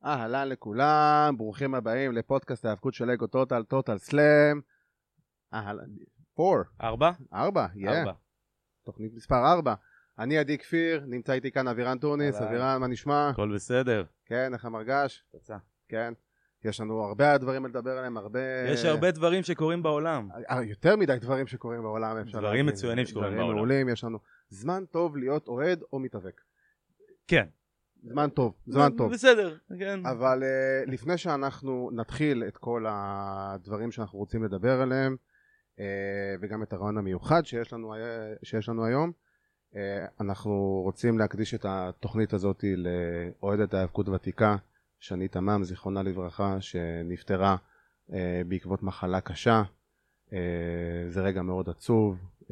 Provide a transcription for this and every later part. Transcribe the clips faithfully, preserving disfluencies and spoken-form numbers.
אהלן לכולם, ברוכים הבאים לפודקאסט ההאבקות של לגו טוטל, טוטל סלאם. אהלן, פור. ארבע? ארבע, יא. ארבע. תוכנית מספר ארבע. אני עדי כפיר, נמצא איתי כאן אבירן טוניס. אבירן, מה נשמע? הכל בסדר. כן, איך המרגש? תצא. כן. יש לנו הרבה דברים לדבר עליהם, הרבה... יש הרבה דברים שקורים בעולם. יותר מדי דברים שקורים בעולם, אפשר להגיד. דברים מצוינים שקורים בעולם. דברים מעולים, יש לנו זמן טוב להיות אוהד או מתאבק. כן. זמן טוב, זמן טוב. בסדר, כן. אבל uh, לפני שאנחנו נתחיל את כל הדברים שאנחנו רוצים לדבר עליהם, uh, וגם את הרעיון המיוחד שיש לנו, שיש לנו היום, uh, אנחנו רוצים להקדיש את התוכנית הזאת לאוהדת ההאבקות ותיקה, שני תמם, זיכרונה לברכה, שנפטרה uh, בעקבות מחלה קשה. Uh, זה רגע מאוד עצוב, uh,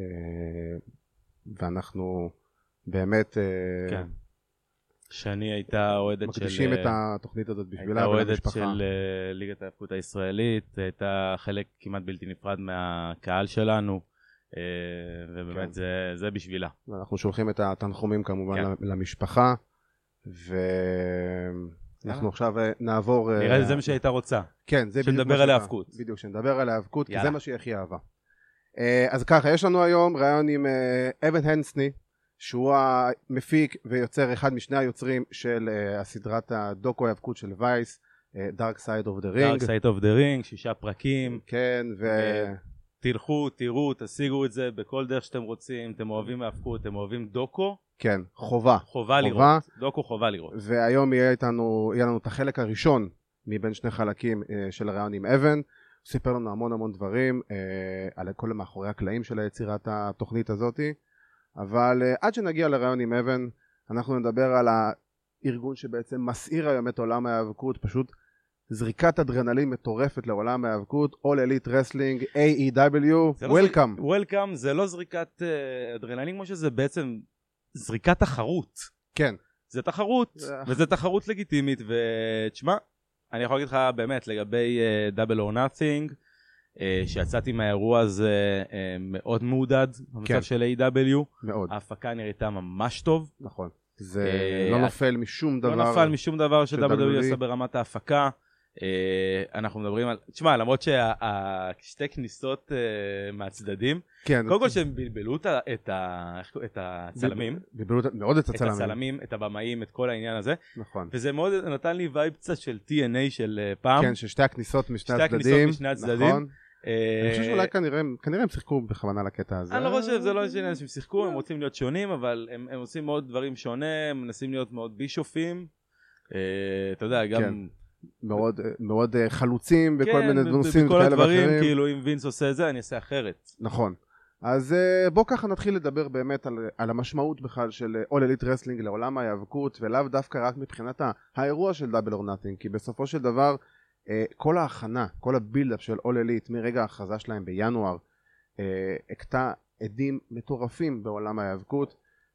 ואנחנו באמת... Uh, כן. שני הייתה אוהדת של... מקדישים את התוכנית הזאת בשבילה ולמשפחה. הייתה אוהדת של ליגת ההאבקות הישראלית, הייתה חלק כמעט בלתי נפרד מהקהל שלנו, ובאמת זה, זה בשבילה. אנחנו שולחים את התנחומים כמובן כן. למשפחה, ואנחנו עכשיו נעבור... נראה לי זה מה שהייתה רוצה. כן, זה שנדבר על ההאבקות. בדיוק, שנדבר על ההאבקות, כי זה מה שהיא הכי אהבה. אז ככה, יש לנו היום רעיון עם אבן הנסני, שהוא המפיק ויוצר אחד משני היוצרים של uh, הסדרת הדוקו ההאבקות של וייס, uh, Dark Side of the Ring. Dark Side of the Ring, שישה פרקים. כן, ו... תלכו, תראו, תשיגו את זה בכל דרך שאתם רוצים, אתם אוהבים האבקות, אתם אוהבים דוקו. כן, חובה. חובה לראות, דוקו חובה לראות. והיום יהיה איתנו, יהיה לנו את החלק הראשון מבין שני חלקים uh, של הרעיון עם אבן. הוא סיפר לנו המון המון דברים uh, על כל מאחורי הקלעים של היצירת התוכנית הזאת. אבל uh, עד שנגיע לרעיון עם אבן, אנחנו נדבר על הארגון שבעצם מסעיר היום את עולם ההאבקות, פשוט זריקת אדרנלין מטורפת לעולם ההאבקות, All Elite Wrestling, A E W, Welcome. Welcome זה לא זריקת uh, אדרנלין כמו שזה בעצם זריקת תחרות. כן. זה תחרות, וזה תחרות לגיטימית, ותשמע, אני יכול להגיד לך באמת לגבי uh, Double or Nothing, Uh, שיצאתי מהאירוע הזה uh, מאוד מעודד במצב כן. של A E W. מאוד. ההפקה נראיתה ממש טוב. נכון. זה uh, לא נופל משום דבר. לא נופל משום דבר ש-דאבליו דאבליו אי עשה ברמת ההפקה. Uh, אנחנו מדברים על... תשמע, למרות ששתי כניסות uh, מהצדדים, כן, קודם כל שהם בלבלו את, את, את הצלמים. בלבלו מאוד את הצלמים. את הצלמים, את הבמאים, את כל העניין הזה. נכון. וזה מאוד נתן לי וייב קצת של טי אן איי של פעם. כן, ששתי הכניסות משני שתי הצדדים. שתי הכניסות משני הצדדים. נכון. אני חושב שאולי כנראה, כנראה הם שיחקו בכוונה לקטע הזה. אני לא חושב, זה לא עניין שהם שיחקו, הם רוצים להיות שונים, אבל הם, הם עושים מאוד דברים שונה, הם מנסים להיות מאוד בישופים. אתה יודע, גם... מאוד, מאוד חלוצים בכל כן, מיני נושאים כאלה ואחרים. בכל הדברים, כאילו אם וינס עושה זה, אני אעשה אחרת. נכון. אז בוא ככה נתחיל לדבר באמת על, על המשמעות בכלל של All Elite Wrestling לעולם ההאבקות, ולאו דווקא רק מבחינת האירוע של Double or Nothing, כי בסופו של דבר, כל ההכנה, כל הבילדאפ של All Elite מרגע ההכרזה שלהם בינואר, הקטע עדים מטורפים בעולם ההאבקות,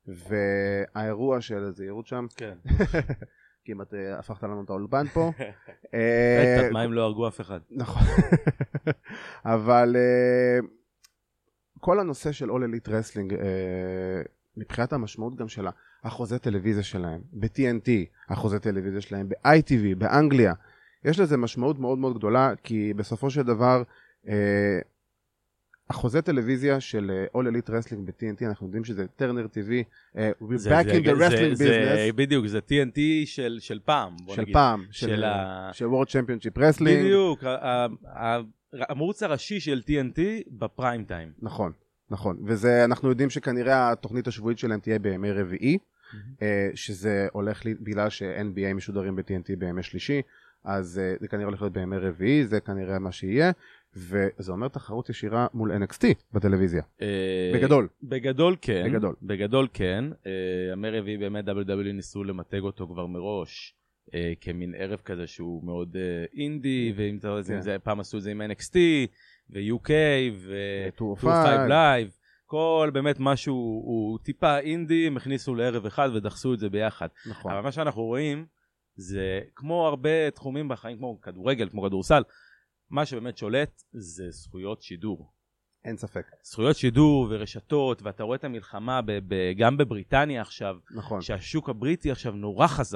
והאירוע של הזהירות שם, כן. כמעט הפכת לנו את האולפן פה. בטח, מה אם לא הרגו אף אחד? נכון. אבל כל הנושא של All Elite Wrestling, מבחינת המשמעות גם של החוזה טלוויזיה שלהם, ב-טי אן טי, החוזה טלוויזיה שלהם, ב-איי טי וי, באנגליה, יש לזה משמעות מאוד מאוד גדולה, כי בסופו של דבר, החוזה טלוויזיה של All Elite Wrestling ב-טי אן טי, אנחנו יודעים שזה טרנר טי וי, we're back in the wrestling business. בדיוק, זה טי אן טי של פעם. של פעם, של World Championship Wrestling. בדיוק, המרוץ הראשי של טי אן טי בפריים טיים. נכון, נכון. וזה, אנחנו יודעים שכנראה התוכנית השבועית שלהם תהיה בימי רביעי, שזה הולך בגלל ש-אן בי איי משודרים ב-טי אן טי בימי שלישי, אז זה כנראה הולך להיות בימי רביעי, זה כנראה מה שיהיה. וזה אומר תחרות ישירה מול אן אקס טי בטלוויזיה. בגדול. בגדול כן. בגדול. בגדול כן. ימי רביעי באמת דאבליו דאבליו אי ניסו למתג אותו כבר מראש, כמין ערב כזה שהוא מאוד אינדי, ואם זה פעם עשו את זה עם אן אקס טי, ו-יו קיי, ו-טו או פייב Live, כל באמת משהו הוא טיפה אינדי, הם הכניסו לערב אחד ודחסו את זה ביחד. נכון. אבל מה שאנחנו רואים, זה כמו הרבה תחומים בחיים, כמו כדורגל, כמו כדורסל, מה שבאמת שולט זה זכויות שידור. אין ספק. זכויות שידור ורשתות, ואתה רואה את המלחמה ב- ב- גם בבריטניה עכשיו, נכון. שהשוק הבריטי עכשיו נורא חזק.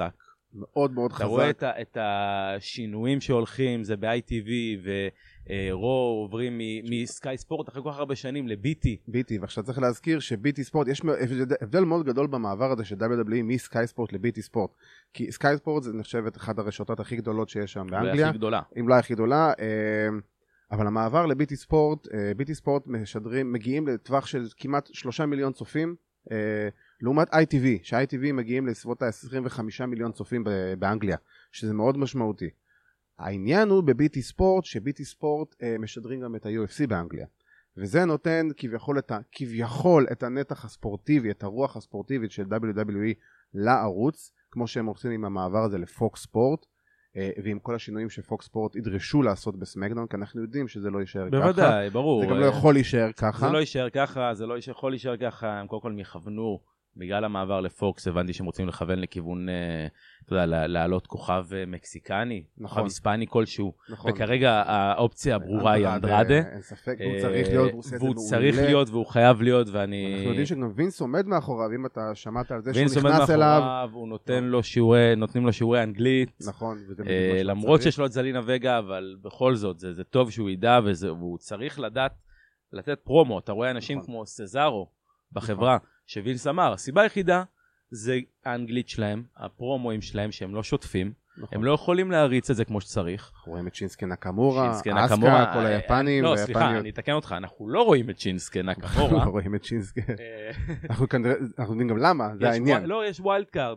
מאוד מאוד חזק. אתה רואה את, ה, את השינויים שהולכים, זה ב-איי טי וי ו-רו עוברים מסקאי ספורט אחרי כל כך הרבה שנים ל-בי טי. בי טי, ועכשיו צריך להזכיר ש-בי טי ספורט, יש הבדל מאוד גדול במעבר הזה של דאבליו דאבליו אי מסקאי ספורט ל-בי טי ספורט. כי סקאי ספורט זה נחשבת אחת הרשתות הכי גדולות שיש שם באנגליה. הכי גדולה. אם לא הכי גדולה. אבל המעבר ל-בי טי ספורט, בי טי ספורט משדרים, מגיעים לטווח של כמעט שלושה מיליון צופים, לעומת איי טי וי, ש-איי טי וי מגיעים לסביבות ה-עשרים וחמישה מיליון צופים באנגליה, שזה מאוד משמעותי. העניין הוא בבי טי ספורט, שבי טי ספורט משדרים גם את ה-יו אף סי באנגליה, וזה נותן כביכול את, ה, כביכול את הנתח הספורטיבי, את הרוח הספורטיבית של דאבליו דאבליו אי לערוץ, כמו שהם עושים עם המעבר הזה לפוקס ספורט, ועם כל השינויים שפוקס ספורט ידרשו לעשות בסמקדאון, כי אנחנו יודעים שזה לא יישאר ככה. בוודאי, ברור. זה גם לא יכול להישאר ככה. זה לא יישאר ככה, זה לא יכול להישאר ככה, הם קודם כל יכוונו, בגלל המעבר לפוקס, הבנתי שהם רוצים לכוון לכיוון, אתה יודע, להעלות כוכב מקסיקני, כוכב היספני כלשהו, וכרגע האופציה הברורה היא אנדרדה. אין ספק, הוא צריך להיות, והוא צריך להיות, והוא חייב להיות, ואני... אנחנו יודעים שגם וינס עומד מאחוריו, אם אתה שמעת על זה שהוא נכנס אליו. וינס עומד מאחוריו, הוא נותן לו שיעורי, נותנים לו שיעורי אנגלית. נכון. למרות שיש לו את זלינה וגה, אבל בכל זאת, זה טוב שהוא ידע, והוא צריך לדעת, לתת פרומו. אתה רואה אנשים כמו סזארו בחברה, שווינס אמר, הסיבה היחידה זה האנגלית שלהם, הפרומואים שלהם שהם לא שוטפים, נכון. הם לא יכולים להריץ את זה כמו שצריך. אנחנו רואים את שינסקי נקמורה, אסקה, כל היפנים. לא, סליחה, אני אתקן אותך, אנחנו לא רואים את שינסקי נקמורה. אנחנו לא רואים את שינסקי. אנחנו יודעים גם למה, זה העניין. לא, יש ווילד קארד.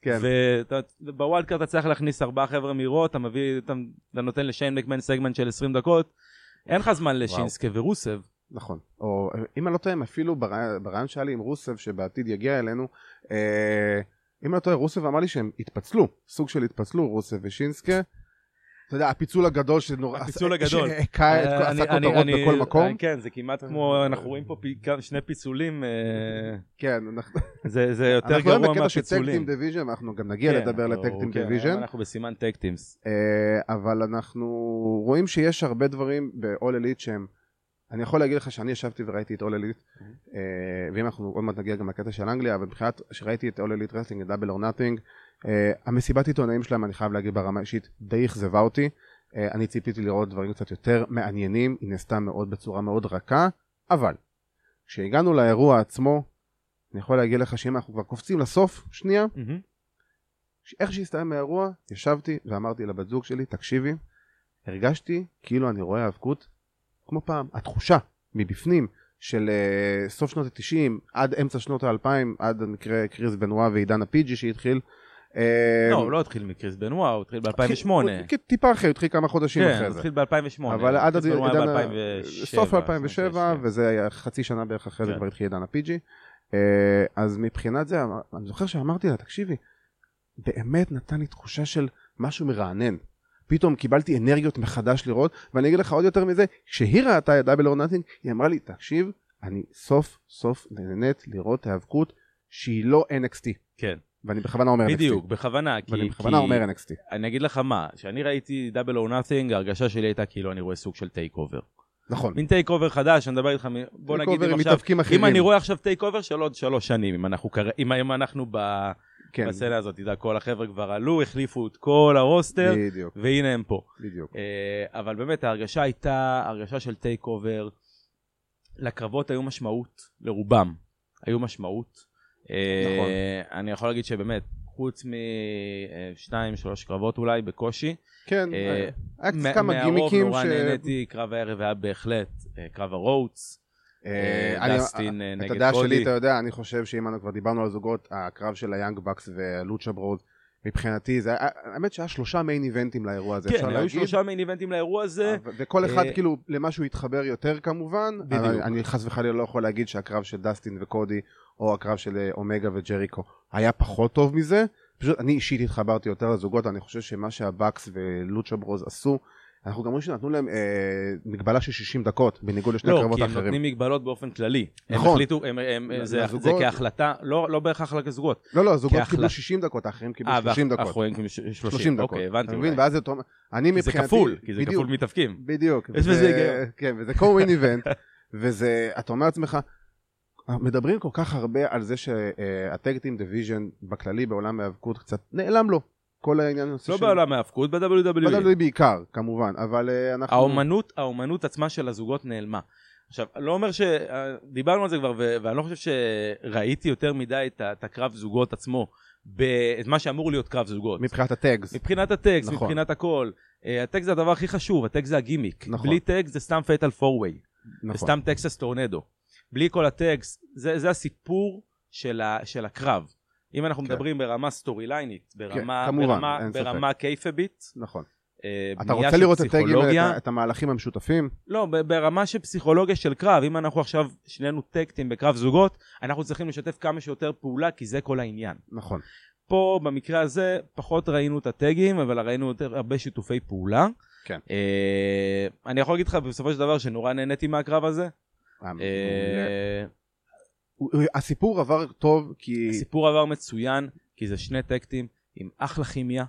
ובווילד קארד אתה צריך להכניס ארבעה חבר'ה מהירות, אתה מביא, אתה נותן לשיין מקמן סגמנט של עשרים דקות, אין לך זמן לשינסקי ורוסב. נכון, או אם אני לא טועה, אפילו ברעיון שהיה לי עם רוסב שבעתיד יגיע אלינו, אה, אם אני לא טועה, רוסב אמר לי שהם התפצלו, סוג של התפצלו, רוסב ושינסקה, אתה יודע, הפיצול הגדול שנורא, הפיצול הגדול, שעשה כותרות בכל מקום. כן, זה כמעט כמו, אנחנו רואים פה שני פיצולים, כן, זה יותר גרוע מהפיצולים. אנחנו בקטע של טקטים דיוויז'ן, אנחנו גם נגיע לדבר לטקטים דיוויז'ן. אנחנו בסימן טקטימס. אבל אנחנו רואים שיש הרבה דברים ב-All Elite שהם, אני יכול להגיד לך שאני ישבתי וראיתי את All Elite, ואם אנחנו עוד מעט נגיע גם לקטע של אנגליה, אבל מבחינת שראיתי את All Elite Wrestling, את Double or Nothing, המסיבת עיתונאים שלהם, אני חייב להגיד ברמה אישית, די אכזבה אותי. אני ציפיתי לראות דברים קצת יותר מעניינים, היא נעשתה מאוד בצורה מאוד רכה, אבל כשהגענו לאירוע עצמו, אני יכול להגיד לך שאם אנחנו כבר קופצים לסוף, שנייה, איך שהסתיים האירוע, ישבתי ואמרתי לבת זוג שלי, תקשיבי, הרגשתי כאילו אני רואה האבקות כמו פעם, התחושה מבפנים של uh, סוף שנות ה-תשעים עד אמצע שנות ה-אלפיים, עד המקרה קריס בנואה ועידן הפיג'י שהתחיל. לא, הוא לא התחיל מקריס בנואה, הוא התחיל ב-אלפיים ושמונה. טיפה אחרי, הוא התחיל כמה חודשים אחרי זה. כן, הוא התחיל ב-אלפיים ושמונה. אבל עד סוף אלפיים ושבע, וזה היה חצי שנה בערך אחרי זה כבר התחיל עידן הפיג'י. אז מבחינת זה, אני זוכר שאמרתי לה, תקשיבי, באמת נתן לי תחושה של משהו מרענן. פתאום קיבלתי אנרגיות מחדש לראות, ואני אגיד לך עוד יותר מזה, כשהיא ראתה את דאבל אור נאטינג, היא אמרה לי, תקשיב, אני סוף סוף נהנית לראות האבקות שהיא לא אן אקס טי. כן. ואני בכוונה אומר אן אקס טי. בדיוק, בכוונה. ואני בכוונה אומר אן אקס טי. אני אגיד לך מה, כשאני ראיתי דאבל אור נאטינג, ההרגשה שלי הייתה כאילו אני רואה סוג של טייק אובר. נכון. מין טייק אובר חדש, אני מדבר איתך, בוא נגיד אם עכשיו, אם אני רואה עכשיו טייק אובר של עוד שלוש שנים, אם אנחנו ב... כן. בסצנה הזאת, תדע, כל החבר'ה כבר עלו, החליפו את כל הרוסטר, בדיוק. והנה הם פה. בדיוק. Uh, אבל באמת, ההרגשה הייתה, הרגשה של טייק אובר, לקרבות היו משמעות, לרובם, היו משמעות. נכון. Uh, אני יכול להגיד שבאמת, חוץ משתיים, שלוש קרבות אולי, בקושי. כן, uh, היה כמה גימיקים נורא ש... נהניתי, קרב הערב היה בהחלט, uh, קרב הרוטס, דסטין נגד קודי. את הדעה שלי, אתה יודע, אני חושב שאם אנחנו כבר דיברנו על זוגות, הקרב של היאנג בקס ולוצ'ה ברוד, מבחינתי, האמת שהיה שלושה מיין איבנטים לאירוע הזה. כן, היו שלושה מיין איבנטים לאירוע הזה. וכל אחד כאילו למשהו התחבר יותר כמובן. בדיוק. אני חס וחלילה לא יכול להגיד שהקרב של דסטין וקודי, או הקרב של אומגה וג'ריקו, היה פחות טוב מזה. פשוט אני אישית התחברתי יותר לזוגות, אני חושב שמה שהבקס ולוצ'ה ברוד עשו, אנחנו גם רואים שנתנו להם אה, מגבלה של שישים דקות, בניגוד לשני לא, קרבות אחרים. לא, כי הם נותנים מגבלות באופן כללי. נכון. הם החליטו, הם, הם, זה, זה כהחלטה, לא, לא בהכרח לזוגות. לא, לא, הזוגות כהחלט... קיבלו שישים דקות, האחרים קיבלו 아, שלושים דקות. האחרים קיבלו שלושים. שלושים דקות. אוקיי, הבנתי. מבין, ואז זה, אני מבחינתי... זה כפול, כי זה בדיוק, כפול מתאפקים. בדיוק. יש בזה היגיון. כן, וזה קומיין איבנט, וזה, אתה אומר לעצמך, מדברים כל כך הרבה על זה שהטאג טים דיוויז'ן בכללי בעולם ההיאבקות קצת נעלם לו. כל העניין... לא בעולם ההפקות, ב-דאבליו דאבליו אי. ב-דאבליו דאבליו אי בעיקר, כמובן, אבל אנחנו... האומנות, האומנות עצמה של הזוגות נעלמה. עכשיו, לא אומר ש... דיברנו על זה כבר, ואני לא חושב שראיתי יותר מדי את הקרב זוגות עצמו, את מה שאמור להיות קרב זוגות. מבחינת הטקס. מבחינת הטקס, מבחינת הכל. הטקס זה הדבר הכי חשוב, הטקס זה הגימיק. בלי טקס זה סתם פייטל פור-ווי. וסתם טקסס טורנדו. בלי כל הטקס, זה הסיפור של הקרב. אם אנחנו מדברים ברמה סטורי ליינית, ברמה קייפבית. נכון. אתה רוצה לראות פסיכולוגיה, את המהלכים המשותפים? לא, ברמה של פסיכולוגיה של קרב. אם אנחנו עכשיו שנינו טקטים בקרב זוגות, אנחנו צריכים לשתף כמה שיותר פעולה, כי זה כל העניין. נכון. פה במקרה הזה פחות ראינו את הטגים, אבל ראינו יותר הרבה שיתופי פעולה. כן. אני יכול להגיד לך בסופו של דבר שנורא נהניתי מהקרב הזה. הסיפור עבר טוב כי... הסיפור עבר מצוין, כי זה שני טקטים עם אחלה כימיה,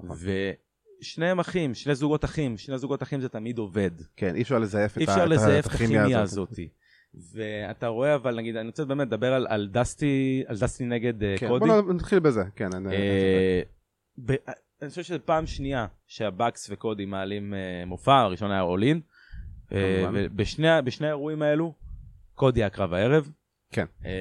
ושניהם אחים, שני זוגות אחים, שני זוגות אחים זה תמיד עובד. כן, אי אפשר לזייף את הכימיה הזאת. ואתה רואה, אבל נגיד, אני רוצה באמת לדבר על, על דסטי, על דסטי נגד כן, קודי. בוא נתחיל בזה, כן. אני, אה, ב, אני חושב שזה פעם שנייה שהבקס וקודי מעלים אה, מופע, הראשון היה אולין, אה, ובשני בשני האירועים האלו, קודי הקרב הערב. כן.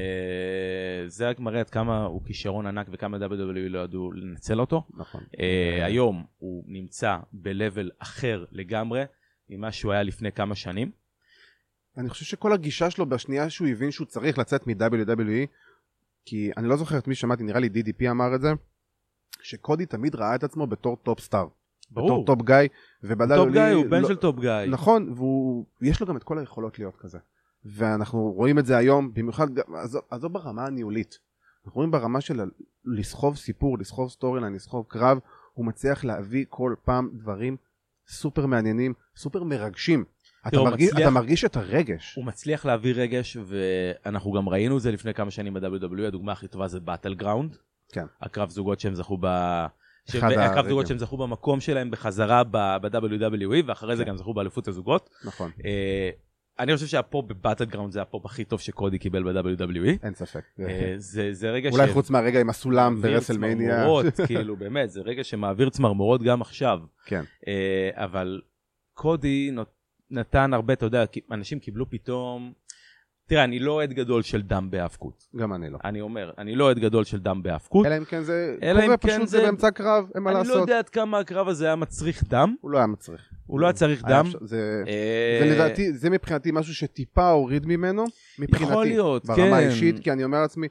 אה, זה רק מראה עד כמה הוא כישרון ענק וכמה דאבליו דאבליו אי לא ידעו לנצל אותו. נכון. אה, היום הוא נמצא בלבל אחר לגמרי, ממה שהוא היה לפני כמה שנים. אני חושב שכל הגישה שלו בשנייה שהוא הבין שהוא צריך לצאת מ-דאבליו דאבליו אי, כי אני לא זוכר את מי שמעתי, נראה לי די די פי אמר את זה, שקודי תמיד ראה את עצמו בתור טופ סטאר. ברור. בתור טופ גאי. טופ גאי, הוא בן של טופ גאי. נכון, ויש לו גם את כל היכולות להיות כזה. ואנחנו רואים את זה היום, במיוחד, אז זו ברמה הניהולית. אנחנו רואים ברמה של לסחוב סיפור, לסחוב סטורי ליין, לסחוב קרב, הוא מצליח להביא כל פעם דברים סופר מעניינים, סופר מרגשים. אתה מרגיש, מצליח, אתה מרגיש את הרגש. הוא מצליח להביא רגש, ואנחנו גם ראינו את זה לפני כמה שנים ב-דאבליו דאבליו אי, הדוגמה הכי טובה זה באטל גראונד. כן. הקרב זוגות שהם זכו ב... הקרב זוגות שהם זכו במקום שלהם בחזרה ב-דאבליו דאבליו אי, ואחרי כן. זה גם זכו באליפות הזוגות. נכון. אני חושב שהפופ בבאטל גראונד זה הפופ הכי טוב שקודי קיבל ב-דאבליו דאבליו אי. אין ספק. זה, זה רגע אולי ש... חוץ מהרגע עם הסולם ברסלמניה. צמרמורות, כאילו, באמת, זה רגע שמעביר צמרמורות גם עכשיו. כן. אבל קודי נתן הרבה, אתה יודע, אנשים קיבלו פתאום... תראה, אני לא עד גדול של דם בהאבקות. גם אני לא. אני אומר, אני לא עד גדול של דם בהאבקות. אלא אם כן זה קורה פשוט, זה באמצע קרב, אין מה לעשות. אני לא יודע עד כמה הקרב הזה היה מצריך דם. הוא לא היה מצריך. הוא לא היה צריך דם. זה לדעתי, זה מבחינתי משהו שטיפה הוריד ממנו, מבחינתי. יכול להיות, כן. ברמה האישית, כי אני אומר לעצמי,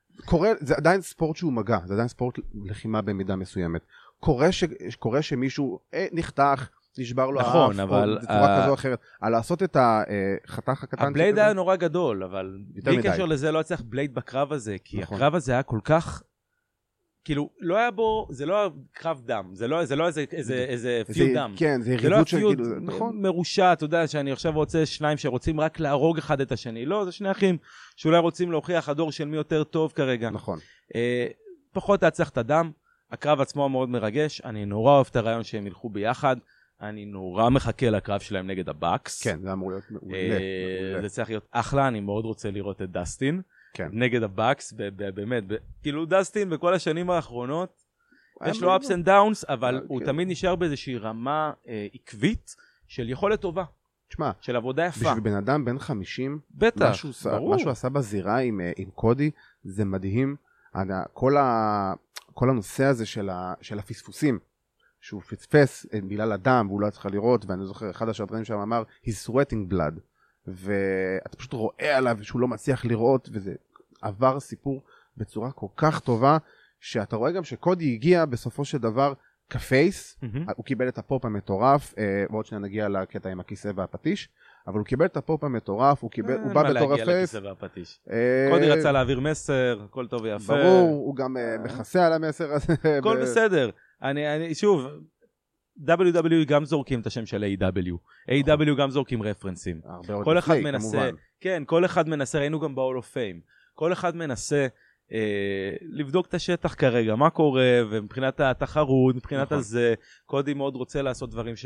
זה עדיין ספורט שהוא מגע, זה עדיין ספורט לחימה במידה מסוימת. קורה שמישהו נחתך, נשבר לו נכון, האף, אבל... או בצורה uh... כזו או אחרת. על לעשות את החתך הקטן... הבלייד היה נורא גדול, אבל בלי קשר לזה לא צריך בלייד בקרב הזה, כי נכון. הקרב הזה היה כל כך... כאילו, לא היה בו... זה לא היה קרב דם, זה לא, זה לא איזה, איזה, איזה פיוד זה, דם. כן, זה זה לא של פיוד כאילו... נכון. מרושע, אתה יודע, שאני עכשיו רוצה שניים שרוצים רק להרוג אחד את השני. לא, זה שני אחים שאולי רוצים להוכיח הדור של מי יותר טוב כרגע. נכון. אה, פחות היה צריך את הדם. הקרב עצמו מאוד מרגש. אני נורא אוהב את הרעיון שהם ילכו ביחד. אני נורא מחכה לקרב שלהם נגד הבאקס. כן, זה אמור להיות מעולה. זה צריך להיות אחלה, אני מאוד רוצה לראות את דסטין. כן. נגד הבאקס, באמת. כאילו דסטין בכל השנים האחרונות, יש לו ups and downs, אבל הוא תמיד נשאר באיזושהי רמה עקבית של יכולת טובה. תשמע, של עבודה יפה. בשביל בן אדם בן חמישים, בטח, ברור. מה שהוא עשה בזירה עם קודי, זה מדהים. כל הנושא הזה של הפספוסים, שהוא פספס בגלל הדם והוא לא צריך לראות, ואני זוכר אחד השדרנים שם אמר he's sweating blood, ואתה פשוט רואה עליו שהוא לא מצליח לראות, וזה עבר סיפור בצורה כל כך טובה, שאתה רואה גם שקודי הגיע בסופו של דבר כפייס, mm-hmm. הוא קיבל את הפופ המטורף, ועוד שניה נגיע לקטע עם הכיסא והפטיש, אבל הוא קיבל את הפופ המטורף, הוא, קיבל, הוא בא בתור הפייס. קודי רצה להעביר מסר, הכל טוב ויפה. ברור, הוא גם מכסה על המסר הזה. הכל בסדר. אני, אני, שוב, דאבליו דאבליו אי גם זורקים את השם של איי דאבליו. איי דאבליו גם זורקים רפרנסים. כל אחד מנסה, כן, כל אחד מנסה, ראינו גם ב-Hall of Fame. כל אחד מנסה אה, לבדוק את השטח כרגע, מה קורה, ומבחינת התחרות, מבחינת הזה, קודי מאוד רוצה לעשות דברים ש...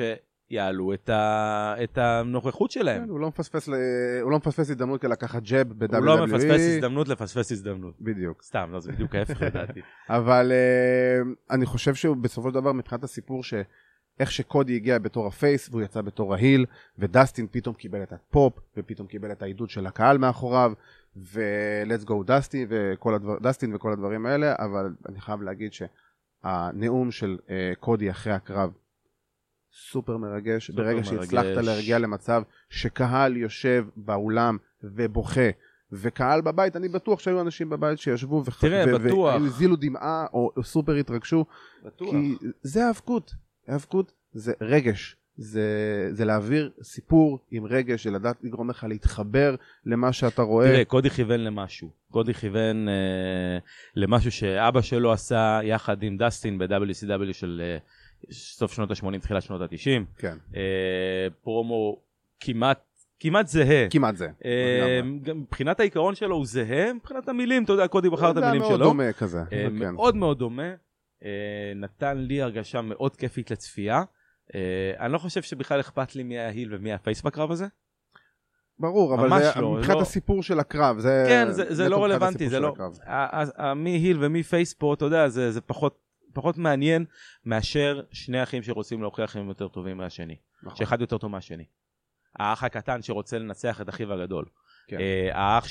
יעלו את, ה... את הנוכחות שלהם. כן, הוא לא מפספס, ל... הוא לא מפספס הזדמנות לקחת ג'אב ב-דאבליו דאבליו אי. הוא לא מפספס הזדמנות לפספס הזדמנות. בדיוק. סתם, לא, זה בדיוק ההפך לדעתי. אבל uh, אני חושב שהוא בסופו של דבר מבחינת הסיפור שאיך שקודי הגיע בתור הפייס והוא יצא בתור ההיל, ודסטין פתאום קיבל את הפופ, ופתאום קיבל את העידוד של הקהל מאחוריו, ו-let's go דסטין וכל, הדבר... דסטין וכל הדברים האלה, אבל אני חייב להגיד שהנאום של uh, קודי אחרי הקרב, סופר מרגש, סופר ברגע מרגש. שהצלחת להרגיע למצב שקהל יושב באולם ובוכה, וקהל בבית, אני בטוח שהיו אנשים בבית שישבו וח... תראה, ו- בטוח. והזילו דמעה או, או סופר התרגשו, בטוח. כי זה האבקות, האבקות זה רגש, זה, זה להעביר סיפור עם רגש, זה לדעת לגרום לך להתחבר למה שאתה רואה. תראה, קודי כיוון למשהו, קודי כיוון אה, למשהו שאבא שלו עשה יחד עם דסטין ב-דאבליו סי דאבליו של... אה, סוף שנות ה-שמונים, תחילת שנות ה-תשעים. כן. אה, פרומו כמעט, כמעט זהה. כמעט זה. אה, גם מבחינת העיקרון שלו הוא זהה, מבחינת המילים, אתה יודע, קודי בחר את המילים שלו. מאוד דומה כזה. אה, כן. מאוד מאוד דומה. אה, נתן לי הרגשה מאוד כיפית לצפייה. אה, אני לא חושב שבכלל אכפת לי מי ההיל ומי הפייס בקרב הזה. ברור, אבל זה לא, מבחינת לא... הסיפור של הקרב. זה, כן, זה, זה לא רלוונטי. זה לא... מי היל ומי פייס פה, אתה יודע, זה, זה פחות... פחות מעניין מאשר שני אחים שרוצים להוכיח הם יותר טובים מהשני. נכון. שאחד יותר טוב מהשני. האח הקטן שרוצה לנצח את אחיו הגדול. כן. האח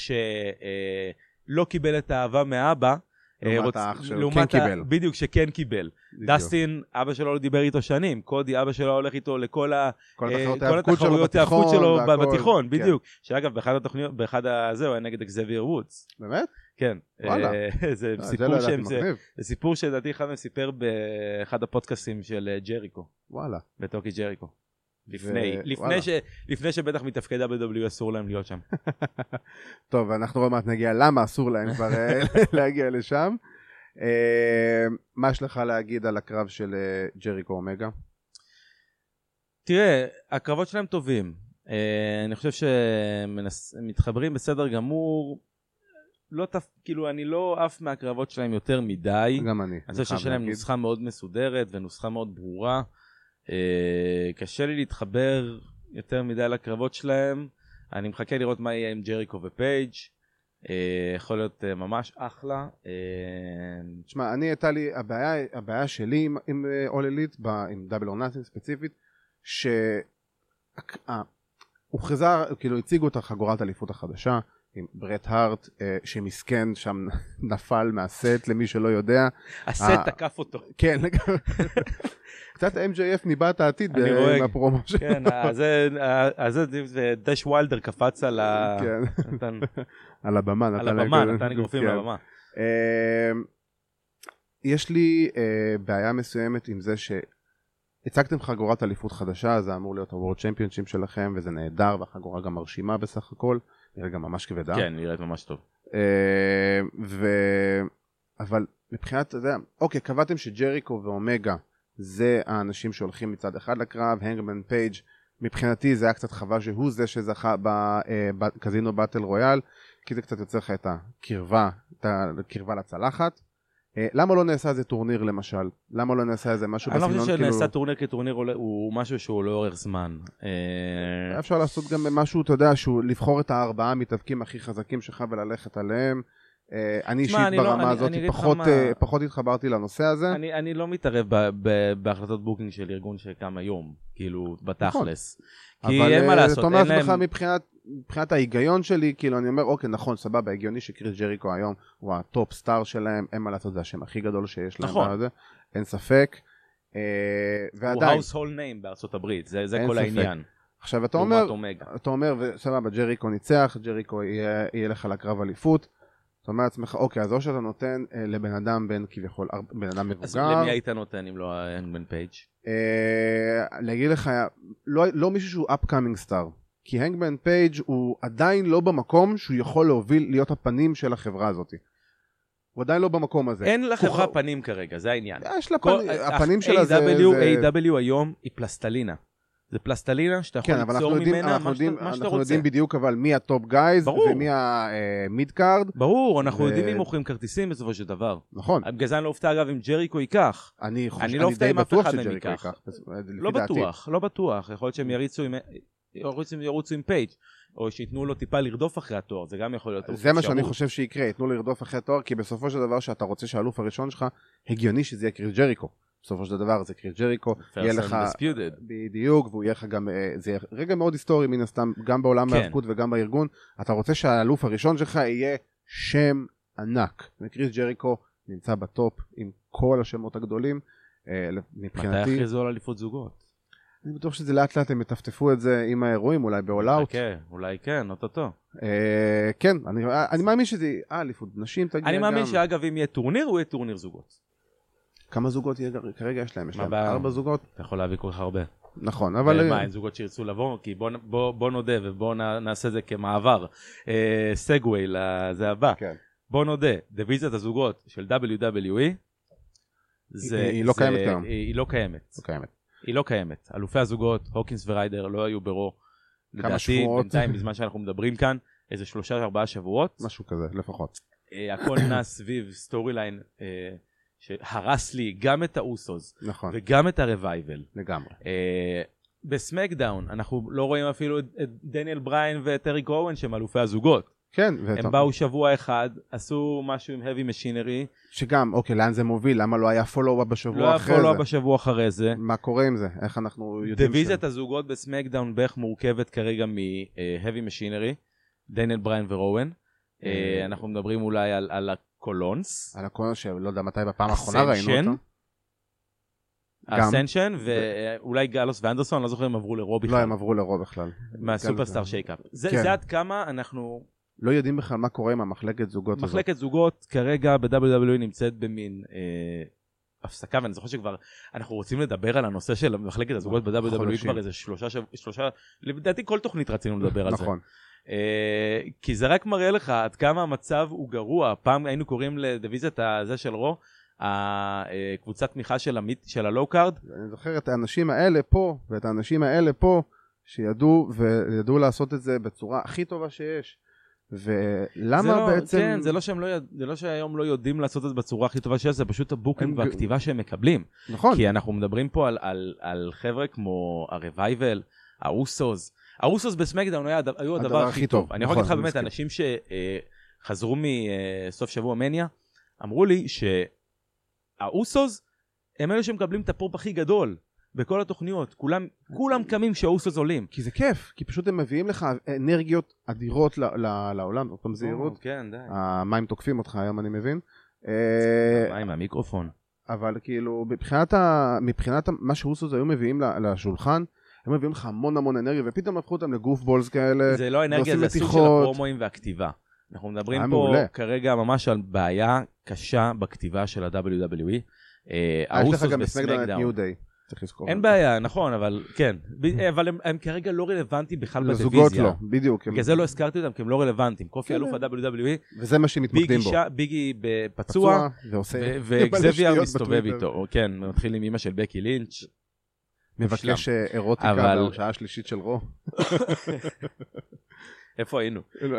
שלא קיבל את האהבה מאבא. לעומת רוצ... האח שהוא כן קיבל. בדיוק, שכן קיבל. בדיוק. דסטין, אבא שלו לא דיבר איתו שנים. קודי, אבא שלו הולך איתו לכל ה... כל התחרויות ההאבקות שלו בתיכון. בדיוק. שאגב, באחד התוכניות, באחד הזה הוא היה נגד אקזבייר וודס. באמת? כן. וואלה. זה סיפור שהם זה. זה סיפור שלדעתי אחד מסיפר באחד הפודקאסטים של ג'ריקו. וואלה. בטוקי ג'ריקו. לפני, לפני ש, לפני שבטח מתפקד דאבליו דאבליו אי אסור להם להיות שם. טוב, אנחנו עוד מעט נגיע למה אסור להם כבר להגיע לשם. מה יש לך להגיד על הקרב של ג'ריקו אומגה? תראה, הקרבות שלהם טובים. אני חושב שהם מתחברים בסדר גמור. לא תפ... כאילו, אני לא עף מהקרבות שלהם יותר מדי. גם אני. אני חושב שיש להם נוסחה מאוד מסודרת ונוסחה מאוד ברורה. אה, קשה לי להתחבר יותר מדי לקרבות שלהם. אני מחכה לראות מה יהיה עם ג'ריקו ופייג'. אה, יכול להיות אה, ממש אחלה. אה... תשמע, אני הייתה לי, הבעיה, הבעיה שלי עם, עם All Elite, עם Double or Nothing ספציפית, שהוכרזה, כאילו הציגו את החגורת האליפות החדשה, עם ברט הארט, אה, שמסכן שם נפל מהסט, למי שלא יודע. הסט תקף אותו. כן, קצת אם ג'יי אף ניבא את העתיד עם הפרומו שלו. כן, אז זה דש וילדר קפץ על ה... כן, על הבמה. על הבמה, נתן אגרופים על הבמה. יש לי בעיה מסוימת עם זה שהצגתם חגורת אליפות חדשה, זה אמור להיות הוורד צ'מפיונשיפ שלכם, וזה נהדר, והחגורה גם מרשימה בסך הכל. נראה גם ממש כבדה. כן, נראית ממש טוב. ו... אבל מבחינת, אתה יודע, אוקיי, קבעתם שג'ריקו ואומגה זה האנשים שהולכים מצד אחד לקרב, הנגמן פייג' מבחינתי זה היה קצת חבל שהוא זה שזכה בקזינו באטל רויאל, כי זה קצת יוצר לך את הקרבה, את הקרבה לצלחת. למה לא נעשה איזה טורניר למשל? למה לא נעשה איזה משהו בסגנון? אני לא חושב שנעשה טורניר כטורניר הוא משהו שהוא לא אורך זמן. אפשר לעשות גם משהו, אתה יודע, שהוא לבחור את הארבעה המתאבקים הכי חזקים שלך וללכת עליהם. אני אישית ברמה הזאת פחות התחברתי לנושא הזה. אני לא מתערב בהחלטות בוקינג של ארגון שקם היום, כאילו בתכלס. אבל זאת אומרת לך מבחינת ההיגיון שלי, כאילו אני אומר, אוקיי, נכון, סבבה, הגיוני שקריס ג'ריקו היום הוא הטופ סטאר שלהם, אין מה לעשות, זה השם הכי גדול שיש להם. נכון. אין ספק. הוא household name בארצות הברית, זה כל העניין. עכשיו אתה אומר, אתה אומר, סבבה, ג'ריקו ניצח, ג'ריקו יהיה לך לקרב אליפות, זאת אומרת לעצמך, אוקיי, אז או שאתה נותן לבן אדם בין כביכול, בן אדם מבוגר. אז למי היית נותן אם לא הנגמן פייג'? להגיד לך, לא מישהו שהוא upcoming star, כי הנגמן פייג' הוא עדיין לא במקום שהוא יכול להוביל להיות הפנים של החברה הזאת. הוא עדיין לא במקום הזה. אין לחברה פנים כרגע, זה העניין. יש לה פנים, הפנים שלה זה... איי דאבליו היום היא פלסטלינה. זה פלסטלינה שאתה יכול כן, ליצור יודעים, ממנה אנחנו מה, יודעים, שאתה, מה שאתה אנחנו רוצה. יודעים בדיוק אבל מי הטופ גייז ומי המיד קארד. ברור, אנחנו ו... יודעים מי מוכרים כרטיסים בסופו של דבר. נכון. בגלל זה אני לא אופתע אגב אם ג'ריקו ייקח. אני, חוש... אני לא אופתע אם אף אחד מהם ייקח. לא בטוח, לא בטוח. יכול להיות שהם יריצו עם, ירוצו, ירוצו עם פייג' או שיתנו לו טיפה לרדוף אחרי התואר, זה גם יכול להיות. זה מה שאני חושב שיקרה, יתנו לרדוף אחרי התואר, כי בסופו של דבר שאתה רוצה שהאלוף הראשון שלך, הגיוני שזה יהיה קריס ג'ריקו. בסופו של דבר זה קריס ג'ריקו, יהיה לך בדיוק, והוא יהיה לך גם, זה יהיה רגע מאוד היסטורי מן הסתם, גם בעולם ההאבקות וגם בארגון, אתה רוצה שהאלוף הראשון שלך יהיה שם ענק, וקריס ג'ריקו נמצא בטופ עם כל השמות הגדולים, מבחינתי. מתי הכריזו על אליפות זוגות? אני בטוח שזה לאט לאט הם מטפטפו את זה עם האירועים, אולי באולאוט. כן, אולי כן, אוטוטו. כן, אני מאמין שזה, אה, אליפות נשים תגיע גם. אני מאמין שאגב אם יהיה טורניר, הוא יהיה טורניר זוגות. כמה זוגות כרגע יש להם? יש להם ארבע זוגות? אתה יכול להביא כל כך הרבה. נכון, אבל... מה, אין זוגות שירצו לבוא? כי בוא נודה ובוא נעשה זה כמעבר. סגווי, זה הבא. בוא נודה, דיוויזיית הזוגות של דאבליו דאבליו אי, היא לא קיימת גם. היא לא קיימת. היא לא קיימת. אלופי הזוגות, הוקינס וריידר, לא היו ברו. לדעתי, בינתיים, בזמן שאנחנו מדברים כאן, איזה שלושה ארבעה שבועות. משהו כזה, לפחות. הכל נע סביב סטורי ליין, שהרס לי גם את האוסוס, נכון. וגם את הרווייבל. לגמרי. בסמקדאון, אנחנו לא רואים אפילו את דניאל בריין וטריק אוון שהם אלופי הזוגות. כן. הם באו שבוע אחד, עשו משהו עם heavy machinery. שגם, אוקיי, לאן זה מוביל? למה לא היה פולו-אפ בשבוע לא אחרי זה? לא היה פולו-אפ בשבוע אחרי זה. מה קורה עם זה? איך אנחנו יודעים? דיוויזיית הזוגות בסמקדאון בערך מורכבת כרגע מ-heavy machinery, דניאל בריין ורואן. אנחנו מדברים אולי על הקולונס. על הקולונס, שלא יודע מתי בפעם האחרונה ראינו אותו. אסנשן, ואולי גלוס ואנדרסון, לא זוכר אם עברו לרו בכלל. לא, הם עברו לרו בכלל. מהסופרסטאר שייקאפ. זה עד כמה אנחנו... לא יודעים בכלל מה קורה עם המחלקת זוגות הזאת. מחלקת זוגות כרגע ב-דאבליו דאבליו אי נמצאת במין הפסקה, ואני זוכר שכבר אנחנו רוצים לדבר על הנושא של מחלקת הזוגות ב-דאבליו דאבליו אי כבר איזה שלושה, שלושה, לדעתי כל תוכנית רצינו לדבר על זה. נכון. כי זה רק מראה לך עד כמה המצב הוא גרוע. פעם היינו קוראים לדיוויזיית הזה של רו, הקבוצת תמיכה של הלואו קארד. אני זוכר את האנשים האלה פה, ואת האנשים האלה פה, שידעו וידעו לעשות את זה בצורה הכי טובה שיש. ולמה בעצם... כן, זה לא שהם לא, זה לא שהיום לא יודעים לעשות את זה בצורה הכי טובה שיש, זה פשוט הבוקינג והכתיבה שהם מקבלים. נכון. כי אנחנו מדברים פה על, על, על חבר'ה כמו הרווייבל, האוסוס. האוסוס בסמקדאון היו הדבר הכי טוב. אני יכול להגיד לך באמת, אנשים שחזרו מסוף שבוע מניה, אמרו לי שהאוסוס הם אלה שמקבלים את הפופ הכי גדול. בכל התוכניות, כולם, כולם קמים שהאוסוס עולים. כי זה כיף, כי פשוט הם מביאים לך אנרגיות אדירות לעולם, עוד פעם זהירות. כן, די. המים תוקפים אותך היום, אני מבין. המים, המיקרופון. אבל כאילו, מבחינת מה שהאוסוס היו מביאים לשולחן, הם מביאים לך המון המון אנרגיה, ופתאום הפכו אותם לגוף בולס כאלה. זה לא אנרגיה, זה הסוג של הפרומואים והכתיבה. אנחנו מדברים פה כרגע ממש על בעיה קשה בכתיבה של ה-דאבליו דאבליו אי. יש לך גם בסמקדאון את ניו דיי. אין בעיה, נכון, אבל כן, אבל הם כרגע לא רלוונטיים בכלל בדיוויזיה. לזוגות לא, בדיוק. בגלל זה לא הזכרתי אותם, כי הם לא רלוונטיים. קופי אלוף ה-דאבליו דאבליו אי, וזה מה שמתמקדים בו. ביגי בפצוע, וגזביה מסתובב איתו. כן, מתחיל עם אמא של בקי לינץ'. מבקש אירוטיקה בשעה השלישית של רו. איפה היינו?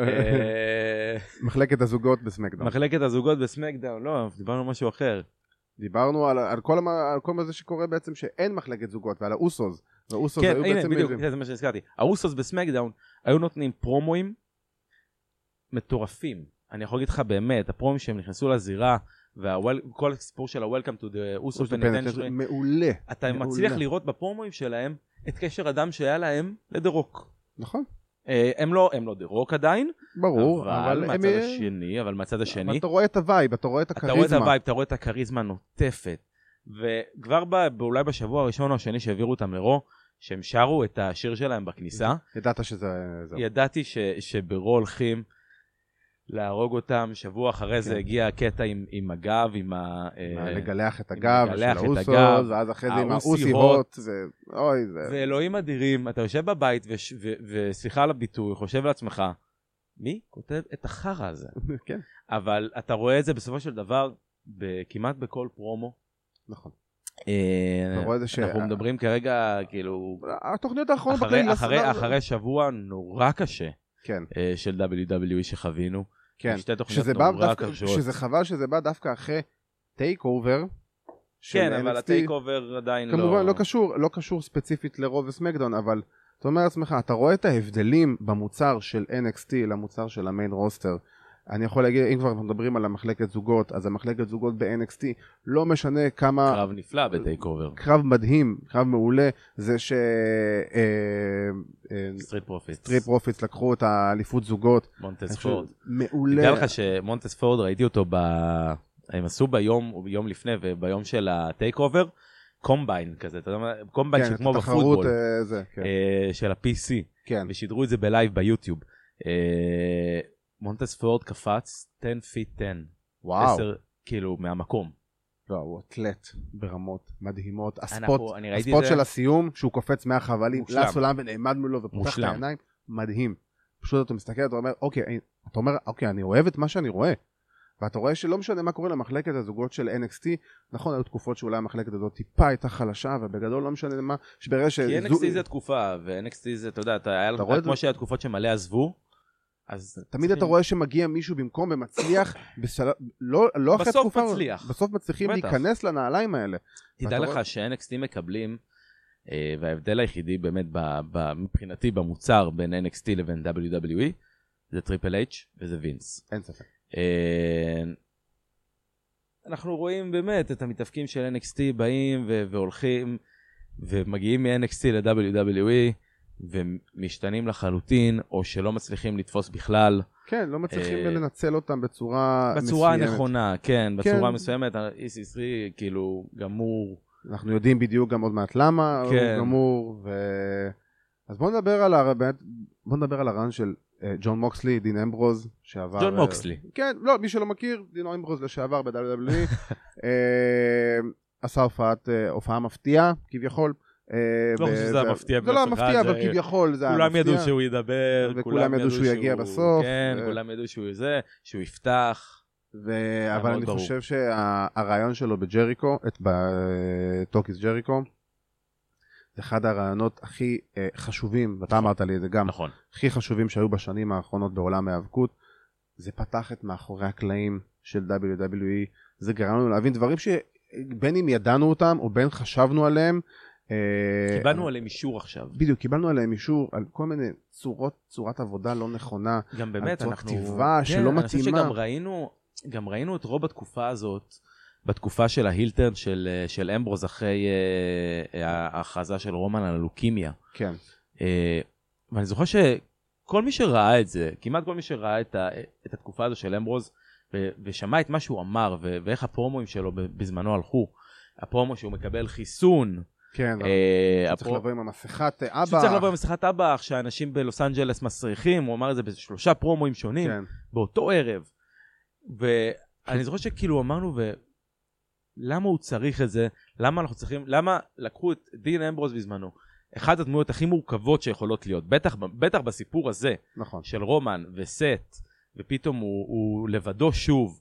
מחלקת הזוגות בסמקדאון. מחלקת הזוגות בסמקדאון, לא, דיברנו על משהו אחר. דיברנו על, על כל, על כל מה שקורה בעצם שאין מחלקת זוגות, ועל האוסוס. והאוסוס כן, היו הנה, בעצם בדיוק, מביאים. זה מה שהזכרתי. האוסוס בסמקדאון היו נותנים פרומואים מטורפים. אני יכול להגיד לך באמת, הפרומואים שהם נכנסו לזירה, וכל הסיפור של ה-Welcome to the Usos Penitentiary, מעולה. אתה מעולה. מצליח לראות בפרומואים שלהם את קשר אדם שהיה להם לדרוק. נכון. הם לא, הם לא דרוק עדיין, ברור, אבל, אבל מהצד הם... השני, אבל מהצד השני, אבל אתה רואה את הווייב, אתה רואה את הכריזמה. אתה רואה את הווייב, אתה רואה את הכריזמה נוטפת, וכבר ב, אולי בשבוע הראשון או השני שהעבירו אותם לרו, שהם שרו את השיר שלהם בכניסה. ידעת שזה... ידעתי ש, שברו הולכים להרוג אותם, שבוע אחרי זה הגיע הקטע עם, עם הגב, עם ה... לגלח את הגב של האוסוס, ואז אחרי זה עם האוסי הוט, אוי זה... ואלוהים אדירים, אתה יושב בבית וסליחה על הביטוי, חושב לעצמך, מי כותב את החרא הזה? כן. אבל אתה רואה את זה בסופו של דבר, כמעט בכל פרומו. נכון. אנחנו מדברים כרגע, כאילו... התוכניות האחרונות... אחרי שבוע נורא קשה של דאבליו דאבליו אי שחווינו. כן, שזה חבל שזה בא דווקא אחרי טייק אובר. כן, אבל הטייק אובר עדיין לא... כמובן, לא קשור, לא קשור ספציפית לרוב וסמקדאון, אבל אתה אומר לעצמך, אתה רואה את ההבדלים במוצר של אן אקס טי למוצר של המיין רוסטר. אני יכול להגיד, אם כבר מדברים על המחלקת זוגות, אז המחלקת זוגות ב-אן אקס טי לא משנה כמה... קרב נפלא בטייק אובר. קרב מדהים, קרב מעולה, זה ש... סטריט פרופיטס. סטריט פרופיטס לקחו את האליפות זוגות. מונטס פורד. מעולה. נדע לך שמונטס פורד, ראיתי אותו ב... הם עשו ביום, ביום לפני, וביום של הטייק אובר, קומביין כזה, אתה יודע, קומביין שכמו בפוטבול, של ה-פי סי, ושידרו את זה בלייב ביוטיוב. מונטס פורד קפץ עשר פיט עשר. וואו. עשר, כאילו, מהמקום. לא, הוא אתלט ברמות מדהימות. הספוט, הספוט של הסיום, שהוא קופץ מהחבלים, לסולם ונעמד מולו ופותח את העיניים, מדהים. פשוט אתה מסתכל, אתה אומר, אוקיי, אתה אומר, אוקיי, אני אוהב את מה שאני רואה. ואתה רואה שלא משנה מה קורה למחלקת הזוגות של אן אקס טי, נכון, היו תקופות שאולי המחלקת הזאת טיפה הייתה חלשה, ובגדול לא משנה מה, שברגע ש... כי אן אקס טי זה תקופה, ו-אן אקס טי זה, אתה יודע, היה לך כמו שהיה תקופות שמלא עזבו, אז... תמיד אתה רואה שמגיע מישהו במקום ומצליח, לא אחרי תקופה, בסוף מצליח. בסוף מצליחים להיכנס לנעליים האלה. תדע לך ש-אן אקס טי מקבלים, וההבדל היחידי באמת מבחינתי במוצר בין אן אקס טי לבין דאבליו דאבליו אי, זה טריפל אייץ' וזה וינס. אין ספק. אנחנו רואים באמת את המתאפקים של אן אקס טי באים והולכים ומגיעים מ-אן אקס טי ל-דאבליו דאבליו אי ומשתנים לחלוטין או שלא מצליחים לתפוס בכלל. כן, לא מצליחים לנצל אותם בצורה מסוימת. בצורה נכונה, כן, בצורה מסוימת. ה-אי סי תרי כאילו גמור. אנחנו יודעים בדיוק גם עוד מעט למה הוא גמור. אז בואו נדבר על הרעיון, בואו נדבר על הרעיון של ג'ון מוקסלי, דין אמברוז, שעבר... ג'ון מוקסלי. כן, לא, מי שלא מכיר, דין אמברוז לשעבר ב-דאבליו דאבליו אי, עשה הופעה מפתיעה, כביכול. לא חושב שזה המפתיע. זה לא המפתיע, אבל כביכול זה המפתיע. כולם ידעו שהוא ידבר. וכולם ידעו שהוא יגיע בסוף. כן, כולם ידעו שהוא זה, שהוא יפתח. אבל אני חושב שהרעיון שלו בג'ריקו, בטוקיס ג'ריקו, זה אחד הרעיונות הכי חשובים, ואתה אמרת לי את זה גם, נכון. הכי חשובים שהיו בשנים האחרונות בעולם ההיאבקות, זה פתח את מאחורי הקלעים של דאבליו דאבליו אי, זה גרם לנו להבין דברים שבין אם ידענו אותם, או בין חשבנו עליהם. קיבלנו עליהם אישור עכשיו. בדיוק, קיבלנו עליהם אישור, על כל מיני צורות, צורת עבודה לא נכונה, גם באמת, על צורת כתיבה שלא מתאימה. אני חושב שגם ראינו, גם ראינו את רוב בתקופה הזאת, בתקופה של ההילטרן של, של אמברוז אחרי uh, ההכרזה של רומן על הלוקימיה. כן. Uh, ואני זוכר שכל מי שראה את זה, כמעט כל מי שראה את, ה, את התקופה הזו של אמברוז, ו, ושמע את מה שהוא אמר, ו, ואיך הפרומואים שלו בזמנו הלכו, הפרומו שהוא מקבל חיסון. כן, uh, שצריך הפר... לבוא עם המסכת אבא. שצריך לבוא עם המסכת אבא, שאנשים בלוס אנג'לס מסריחים, הוא אמר את זה בשלושה פרומואים שונים, כן. באותו ערב. ואני זוכר שכאילו אמרנו, ו... למה הוא צריך את זה? למה אנחנו צריכים, למה לקחו את דין אמברוז בזמנו? אחת הדמויות הכי מורכבות שיכולות להיות, בטח, בטח בסיפור הזה, נכון. של רומן וסט, ופתאום הוא, הוא לבדו שוב.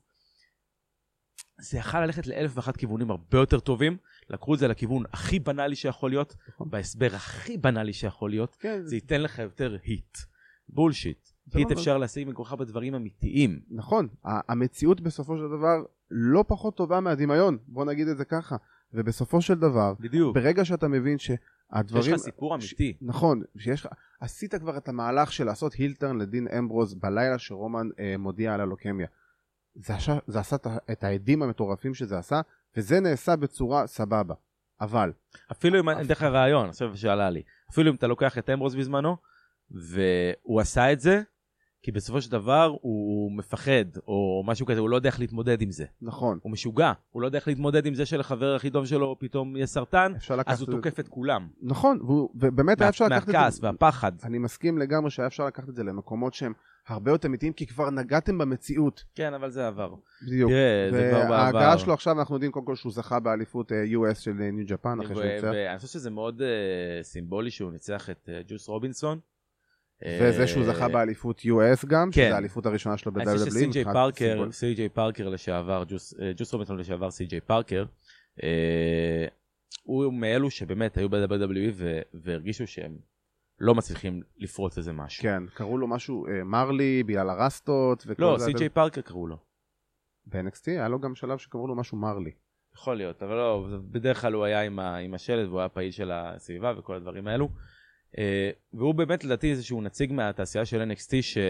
זה יכול ללכת לאלף ואחת כיוונים הרבה יותר טובים, לקחו את זה לכיוון הכי בנאלי שיכול להיות, נכון. בהסבר הכי בנאלי שיכול להיות, כן. זה ייתן לך יותר היט. בולשיט. היט אפשר להשיג מכוחה בדברים אמיתיים. נכון. המציאות בסופו של דבר לא פחות טובה מהדמיון, בוא נגיד את זה ככה. ובסופו של דבר, בדיוק. ברגע שאתה מבין שהדברים... יש לך סיפור אמיתי. ש... נכון, שיש לך... עשית כבר את המהלך של לעשות הילטרן לדין אמברוז בלילה שרומן אה, מודיע על הלוקמיה. זה, עשה, זה עשה את העדים המטורפים שזה עשה, וזה נעשה בצורה סבבה. אבל... אפילו אם אני אתן לך רעיון, עכשיו שעלה לי, אפילו אם אתה לוקח את אמברוז בזמנו, והוא עשה את זה, כי בסופו של דבר הוא מפחד, או משהו כזה, הוא לא יודע איך להתמודד עם זה. נכון. הוא משוגע, הוא לא יודע איך להתמודד עם זה שלחבר הכי טוב שלו פתאום יהיה סרטן, אז הוא תוקף את כולם. נכון, ובאמת היה אפשר לקחת את זה... מהכעס והפחד. אני מסכים לגמרי שהיה אפשר לקחת את זה למקומות שהם הרבה יותר אמיתיים, כי כבר נגעתם במציאות. כן, אבל זה עבר. בדיוק. וההגעה שלו עכשיו, אנחנו יודעים קודם כל שהוא זכה באליפות יו אס של ניו ג'פן, אחרי שהוא ניצח. ואני חושב שזה מאוד סימבולי שהוא ניצח את ג'וס רובינסון. וזה שהוא זכה באליפות יו אס גם, שזה האליפות הראשונה שלו ב-דאבליו דאבליו אי. אני חושב שסי ג'יי פארקר, סי ג'יי פארקר לשעבר, ג'וס רובינסון לשעבר, סי ג'יי פארקר, הוא מאלו שבאמת היו ב-דאבליו דאבליו אי והרגישו שהם לא מצליחים לפרוץ איזה משהו. כן, קראו לו משהו מרלי, בגלל הרסטות. לא, סי.ג'יי פארקר קראו לו. ב-אן אקס טי היה לו גם שלב שקראו לו משהו מרלי. יכול להיות, אבל לא, בדרך כלל הוא היה עם, ה, עם השלט, והוא היה פעיל של הסביבה וכל הדברים האלו. והוא באמת לדעתי איזשהו נציג מהתעשייה של אן אקס טי ש...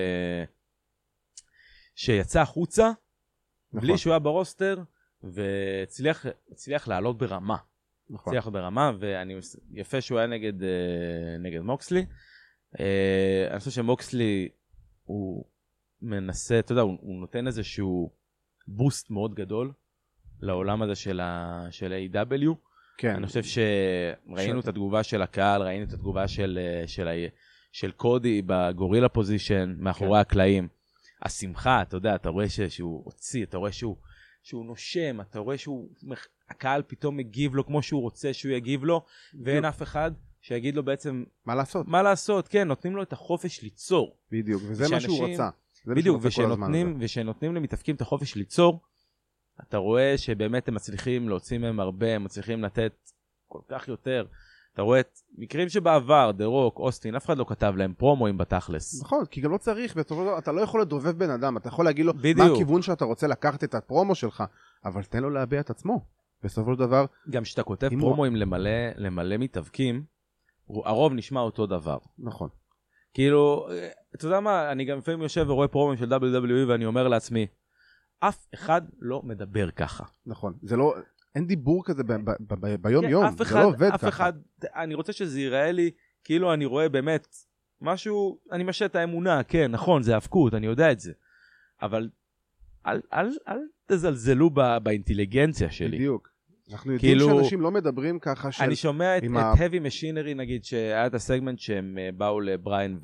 שיצא החוצה, נכון. בלי שהוא היה ברוסטר, והצליח הצליח לעלות ברמה. נכון. הצליח ברמה, ואני יפה שהוא היה נגד, נגד מוקסלי. אני חושב שמוקסלי הוא מנסה, אתה יודע, הוא, הוא נותן איזשהו בוסט מאוד גדול לעולם הזה של ה של איי דאבליו. כן. אני חושב שראינו את התגובה של הקהל, ראינו את התגובה של של של קודי בגורילה פוזישן מאחורי הקלעים. השמחה, אתה יודע, אתה רואה שהוא הוציא, אתה רואה שהוא שהוא נושם, אתה רואה שהוא הקהל פתאום מגיב לו כמו שהוא רוצה שהוא יגיב לו, ואין אף אחד שיגיד לו בעצם מה לעשות. מה לעשות, כן, נותנים לו את החופש ליצור. בדיוק, וזה מה שהוא רצה. בדיוק, ושנותנים, ושנותנים למתאפקים את החופש ליצור, אתה רואה שבאמת הם מצליחים להוציא מהם הרבה, הם מצליחים לתת כל כך יותר. אתה רואה את מקרים שבעבר, דה רוק, אוסטין, אף אחד לא כתב להם פרומואים בתכלס. נכון, כי גם לא צריך, אתה לא יכול לדובב בן אדם, אתה יכול להגיד לו מה הכיוון שאתה רוצה לקחת את הפרומו שלך, אבל תן לו להביע את עצמו. בסופו של דבר... גם שאתה כותב פרומואים למלא, למלא מתאבקים, הרוב נשמע אותו דבר. נכון. כאילו, אתה יודע מה, אני גם לפעמים יושב ורואה פרומואים של דאבליו דאבליו אי ואני אומר לעצמי, אף אחד לא מדבר ככה. נכון, זה לא... אין דיבור כזה ביום יום, זה לא עובד ככה. אף אחד, אני רוצה שזה ייראה לי, כאילו אני רואה באמת משהו, אני משא את האמונה, כן, נכון, זה האבקות, אני יודע את זה. אבל אל, אל, אל תזלזלו באינטליגנציה שלי. בדיוק. אנחנו יודעים שאנשים לא מדברים ככה. אני שומע את Heavy Machinery, נגיד, שהיה את הסגמנט שהם באו לבריין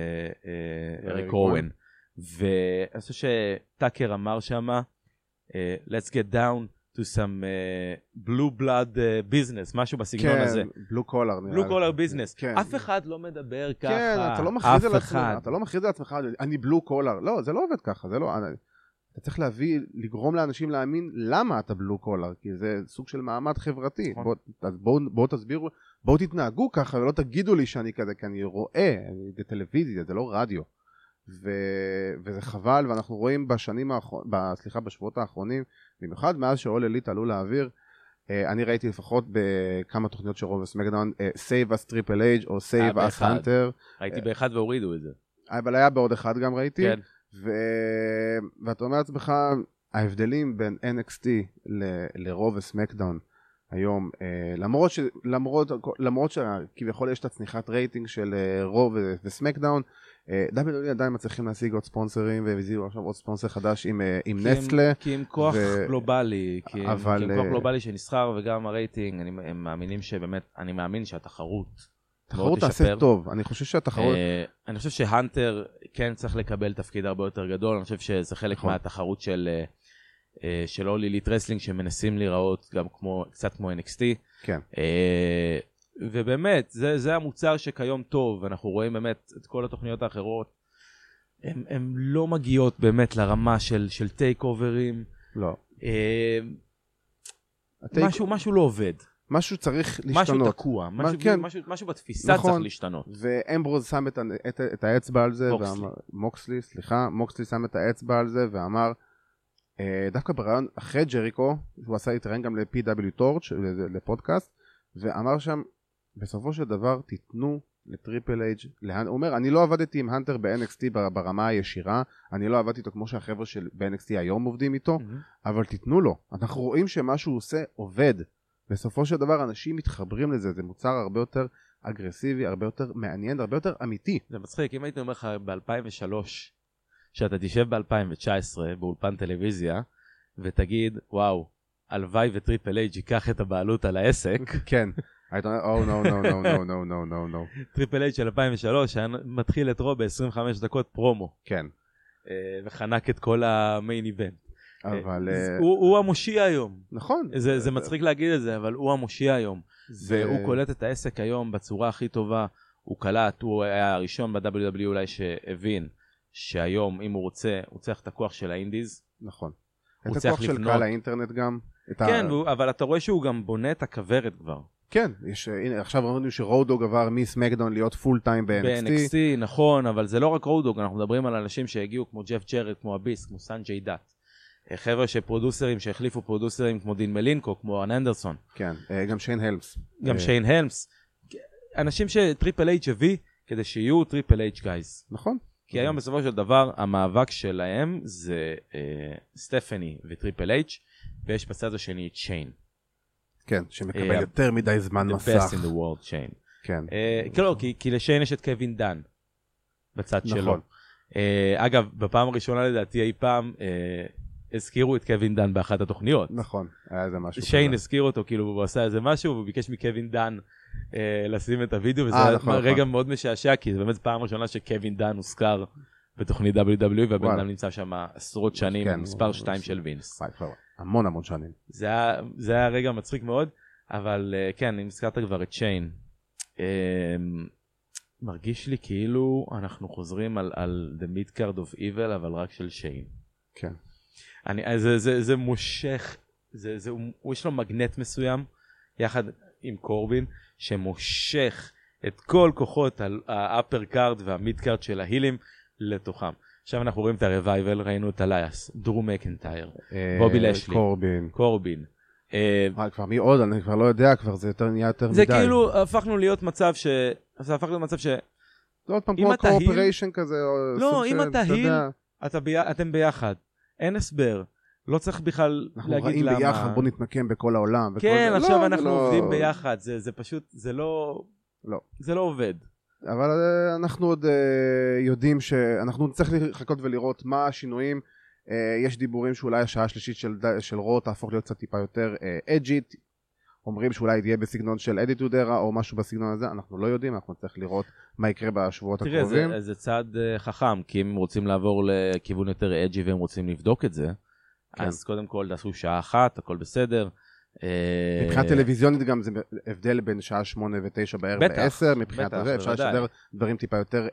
ולאריק אורן. ואני חושב שטאקר אמר שמה, let's get down to some uh, blue blood uh, business, משהו בסגנון כן, הזה. כן, blue collar. blue collar business. כן. אף אחד לא מדבר ככה. כן, אתה לא מכריז על עצמך, אתה לא מכריז על עצמך, אני blue collar. לא, זה לא עובד ככה, זה לא... אני, אתה צריך להביא, לגרום לאנשים להאמין למה אתה blue collar, כי זה סוג של מעמד חברתי. בואו בוא, בוא תסבירו, בואו תתנהגו ככה, ולא תגידו לי שאני כזה, כי אני רואה, אני, זה טלוויזיה, זה לא רדיו. ו... וזה חבל, ואנחנו רואים בשנים האחרונים, סליחה, בשבועות האחרונים, במיוחד מאז שאול אליט עלו לאוויר, אני ראיתי לפחות בכמה תוכניות של רו וסמקדאון, Save Us Triple H או Save Us Hunter. ראיתי באחד והורידו את זה. אבל היה בעוד אחד גם ראיתי. כן. ו... ואתה אומר לעצמך, ההבדלים בין אן אקס טי ל... לרו וסמקדאון היום, למרות, ש... למרות... למרות שכביכול יש את הצניחת רייטינג של רו ו... וסמקדאון, דאבליו דאבליו עדיין מצליחים להשיג עוד ספונסרים, והזיזו עכשיו עוד ספונסר חדש עם, עם נסטלה. כי עם כוח גלובלי, כי עם כוח גלובלי שנסחר וגם הרייטינג, הם מאמינים שבאמת, אני מאמין שהתחרות תחרות תעשה טוב, אני חושב שהתחרות... אני חושב שהנטר כן צריך לקבל תפקיד הרבה יותר גדול, אני חושב שזה חלק מהתחרות של של אול אליט רסלינג שמנסים להיראות גם כמו, קצת כמו אן אקס טי. כן. ובאמת, זה, זה המוצר שכיום טוב, אנחנו רואים באמת את כל התוכניות האחרות, הן לא מגיעות באמת לרמה של, של טייק אוברים. לא. משהו, משהו לא עובד. משהו צריך להשתנות. משהו תקוע, משהו, כן. משהו, משהו בתפיסה נכון. צריך להשתנות. ואמברוז שם את, את, את האצבע על זה, מוקסלי. ואמר, מוקסלי, סליחה, מוקסלי שם את האצבע על זה, ואמר, דווקא ברעיון אחרי ג'ריקו, הוא עשה להתראיין גם ל-פי דאבליו Torch, לפודקאסט, ואמר שם, בסופו של דבר תיתנו לטריפל אייג' להנ... הוא אומר, אני לא עבדתי עם הנטר ב-אן אקס טי ברמה הישירה, אני לא עבדתי איתו כמו שהחבר'ה של ב-אן אקס טי היום עובדים איתו, mm-hmm. אבל תיתנו לו. אנחנו רואים שמה שהוא עושה עובד. בסופו של דבר אנשים מתחברים לזה, זה מוצר הרבה יותר אגרסיבי, הרבה יותר מעניין, הרבה יותר אמיתי. זה מצחיק, אם הייתי אומר לך ב-אלפיים ושלוש, שאתה תשב ב-אלפיים ותשע עשרה באולפן טלוויזיה, ותגיד, וואו, הלוואי וטריפל אייג' ייקח את הבעלות על העסק. כן. I don't know, oh no, no, no, no, no, no, no, no. טריפל אייג' של אלפיים ושלוש, היה מתחיל את רו ב-עשרים וחמש דקות פרומו. כן. וחנק את כל המיין איבנט. אבל... הוא המושיע היום. נכון. זה מצחיק להגיד את זה, אבל הוא המושיע היום. והוא קולט את העסק היום בצורה הכי טובה. הוא קלט, הוא היה הראשון ב-דאבליו דאבליו אולי שהבין שהיום, אם הוא רוצה, הוא צריך את הכוח של האינדיז. נכון. את הכוח של קהל האינטרנט גם. כן, אבל אתה רואה שהוא גם בונה את הכוורת כבר. כן, יש, הנה, עכשיו ראינו שרודוג עבר מסמקדאון להיות פול טיים ב-אן אקס טי. ב-אן אקס טי, נכון, אבל זה לא רק רודוג, אנחנו מדברים על אנשים שהגיעו כמו ג'ף ג'רד, כמו אביס, כמו סנג'יי דאט. חבר'ה שפרודוסרים, שהחליפו פרודוסרים כמו דין מלינקו, כמו אן אנדרסון. כן, גם שיין הלמס. גם שיין הלמס. אנשים שטריפל אייץ' הביא, כדי שיהיו טריפל אייץ' גייז. נכון. כי היום בסופו של דבר, המאבק שלהם זה סטפני וטריפל אייץ', ויש בצד השני את שיין. כן, שמקבל יותר מדי זמן מסך. The best in the world, שיין. כן. לא, כי לשיין יש את קווין דן, בצד שלו. נכון. אגב, בפעם הראשונה לדעתי אי פעם, הזכירו את קווין דן באחת התוכניות. נכון, היה איזה משהו. שיין הזכיר אותו, כאילו הוא עשה איזה משהו, והוא ביקש מקווין דן לשים את הוידאו, וזה היה רגע מאוד משעשע, כי זה באמת פעם ראשונה שקווין דן הוזכר בתוכנית דאבליו דאבליו אי, והבן אדם נמצא שם עשרות שנים, מספר שתיים של וינס. המון המון שנים. זה היה רגע מצחיק מאוד, אבל כן, אם הזכרת כבר את שיין, מרגיש לי כאילו אנחנו חוזרים על The Midcard of Evil, אבל רק של שיין. כן. אני, זה, זה, זה מושך, זה, זה, הוא יש לו מגנט מסוים, יחד עם קורבין, שמושך את כל כוחות האפר קארד והמיד קארד של ההילים לתוכם. עכשיו אנחנו רואים את הרווייבל, ראינו את אלייס, דרו מקנטייר, בובי לשלי, קורבין. קורבין. כבר מי עוד? אני כבר לא יודע, כבר זה יותר נהיה יותר מדי. זה כאילו, הפכנו להיות מצב ש... זה הפך להיות מצב ש... זה עוד פעם כמו קואופריישן כזה. לא, אם אתה היל, אתם ביחד. אין הסבר. לא צריך בכלל להגיד למה. אנחנו ראים ביחד, בוא נתנקם בכל העולם. כן, עכשיו אנחנו עובדים ביחד. זה פשוט, זה לא... זה לא עובד. אבל אנחנו עוד יודעים שאנחנו נצטרך לחכות ולראות מה השינויים. יש דיבורים שאולי השעה השלישית של רו תהפוך להיות קצת טיפה יותר אג'ית. אומרים שאולי תהיה בסגנון של אדיטוד ארה או משהו בסגנון הזה, אנחנו לא יודעים, אנחנו נצטרך לראות מה יקרה בשבועות הקרובים. תראה, זה, זה צעד חכם, כי אם הם רוצים לעבור לכיוון יותר אג'י והם רוצים לבדוק את זה, כן. אז קודם כל תעשו שעה אחת, הכל בסדר. מבחינת טלוויזיונית גם זה הבדל בין שעה שמונה ותשע בערב לעשר, מבחינת הזה אפשר לשדר דברים טיפה יותר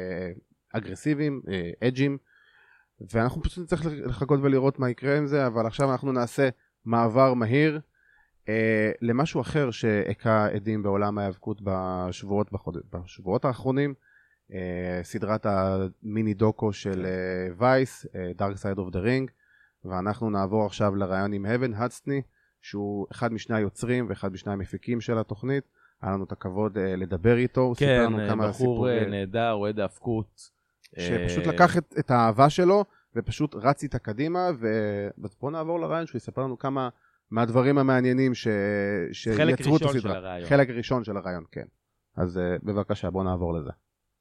אגרסיביים, אג'ים, ואנחנו פשוט נצטרך לחכות ולראות מה יקרה עם זה, אבל עכשיו אנחנו נעשה מעבר מהיר, Uh, למשהו אחר שהקה עדים בעולם ההיאבקות בשבועות, בחוד... בשבועות האחרונים, uh, סדרת המיני דוקו של וייס, uh, uh, Dark Side of the Ring, ואנחנו נעבור עכשיו לרעיון עם הבן הדסטני, שהוא אחד משני היוצרים ואחד משני המפיקים של התוכנית. היה לנו את הכבוד uh, לדבר איתו, כן, בחור סיפור... נהדר, אוהד ההאבקות. שפשוט uh... לקח את, את האהבה שלו ופשוט רץ איתה קדימה, ובואו נעבור לרעיון שהוא יספר לנו כמה מהדברים המעניינים ש... שיצרו את הסדרה. חלק ראשון של הרעיון, כן. אז uh, בבקשה, בואו נעבור לזה.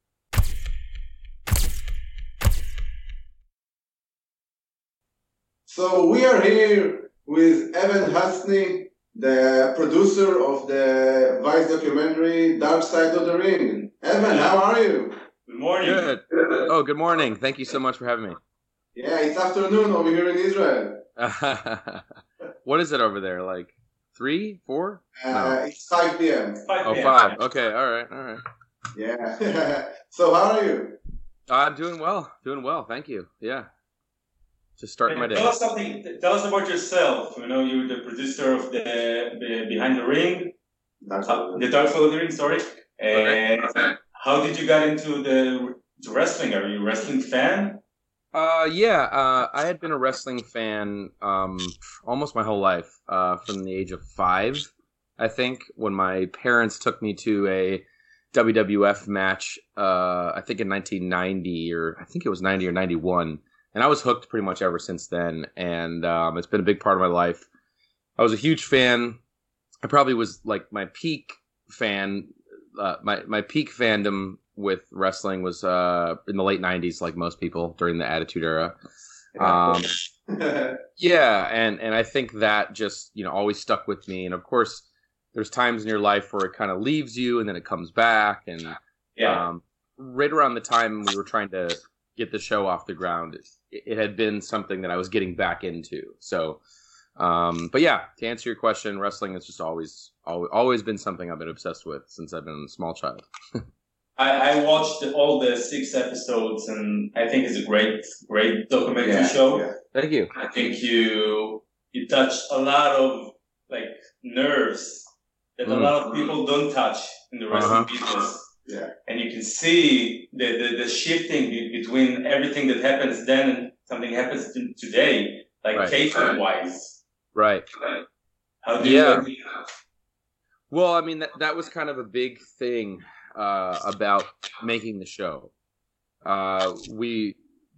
So we are here with Evan Hastny, the producer of the Vice documentary Dark Side of the Ring. Evan, how are you? Good morning. Good. Oh, good morning. Thank you so much for having me. Yeah, it's afternoon over here in Israel. What is it over there? Like three, four? Uh, no. It's five p.m. Oh, five. Okay. All right. All right. Yeah. So how are you? I'm doing well. Doing well. Thank you. Yeah. Just starting my day. Tell us something. Tell us about yourself. You know, you're the producer of the, the Behind the Ring. That's uh, the Dark Side of the Ring. Sorry. Okay. And okay. How did you get into the to wrestling? Are you a wrestling fan? Uh, yeah, uh, I had been a wrestling fan um, almost my whole life, uh, from the age of five, I think, when my parents took me to a W W F match, uh, I think in nineteen ninety, or I think it was ninety or ninety-one, and I was hooked pretty much ever since then, and um, it's been a big part of my life. I was a huge fan. I probably was, like, my peak fan, uh, my, my peak fandom with wrestling was uh, in the late nineties, like most people during the Attitude Era. Um, yeah, and, and I think that just, you know, always stuck with me. And of course, there's times in your life where it kind of leaves you and then it comes back. And yeah. um, right around the time we were trying to get the show off the ground, it, it had been something that I was getting back into. So, um, but yeah, to answer your question, wrestling has just always, always, always been something I've been obsessed with since I've been a small child. I, I watched all the six episodes, and I think it's a great, great documentary yeah, show. Yeah. Thank you. I think you you touched a lot of like nerves that Mm. a lot of people don't touch in the wrestling Uh-huh. business. Yeah. And you can see the, the, the shifting be- between everything that happens then and something happens to today, like Right. kayfabe wise. Right. How do Yeah. you Well, I mean, that, that was kind of a big thing uh, about making the show. Uh, we,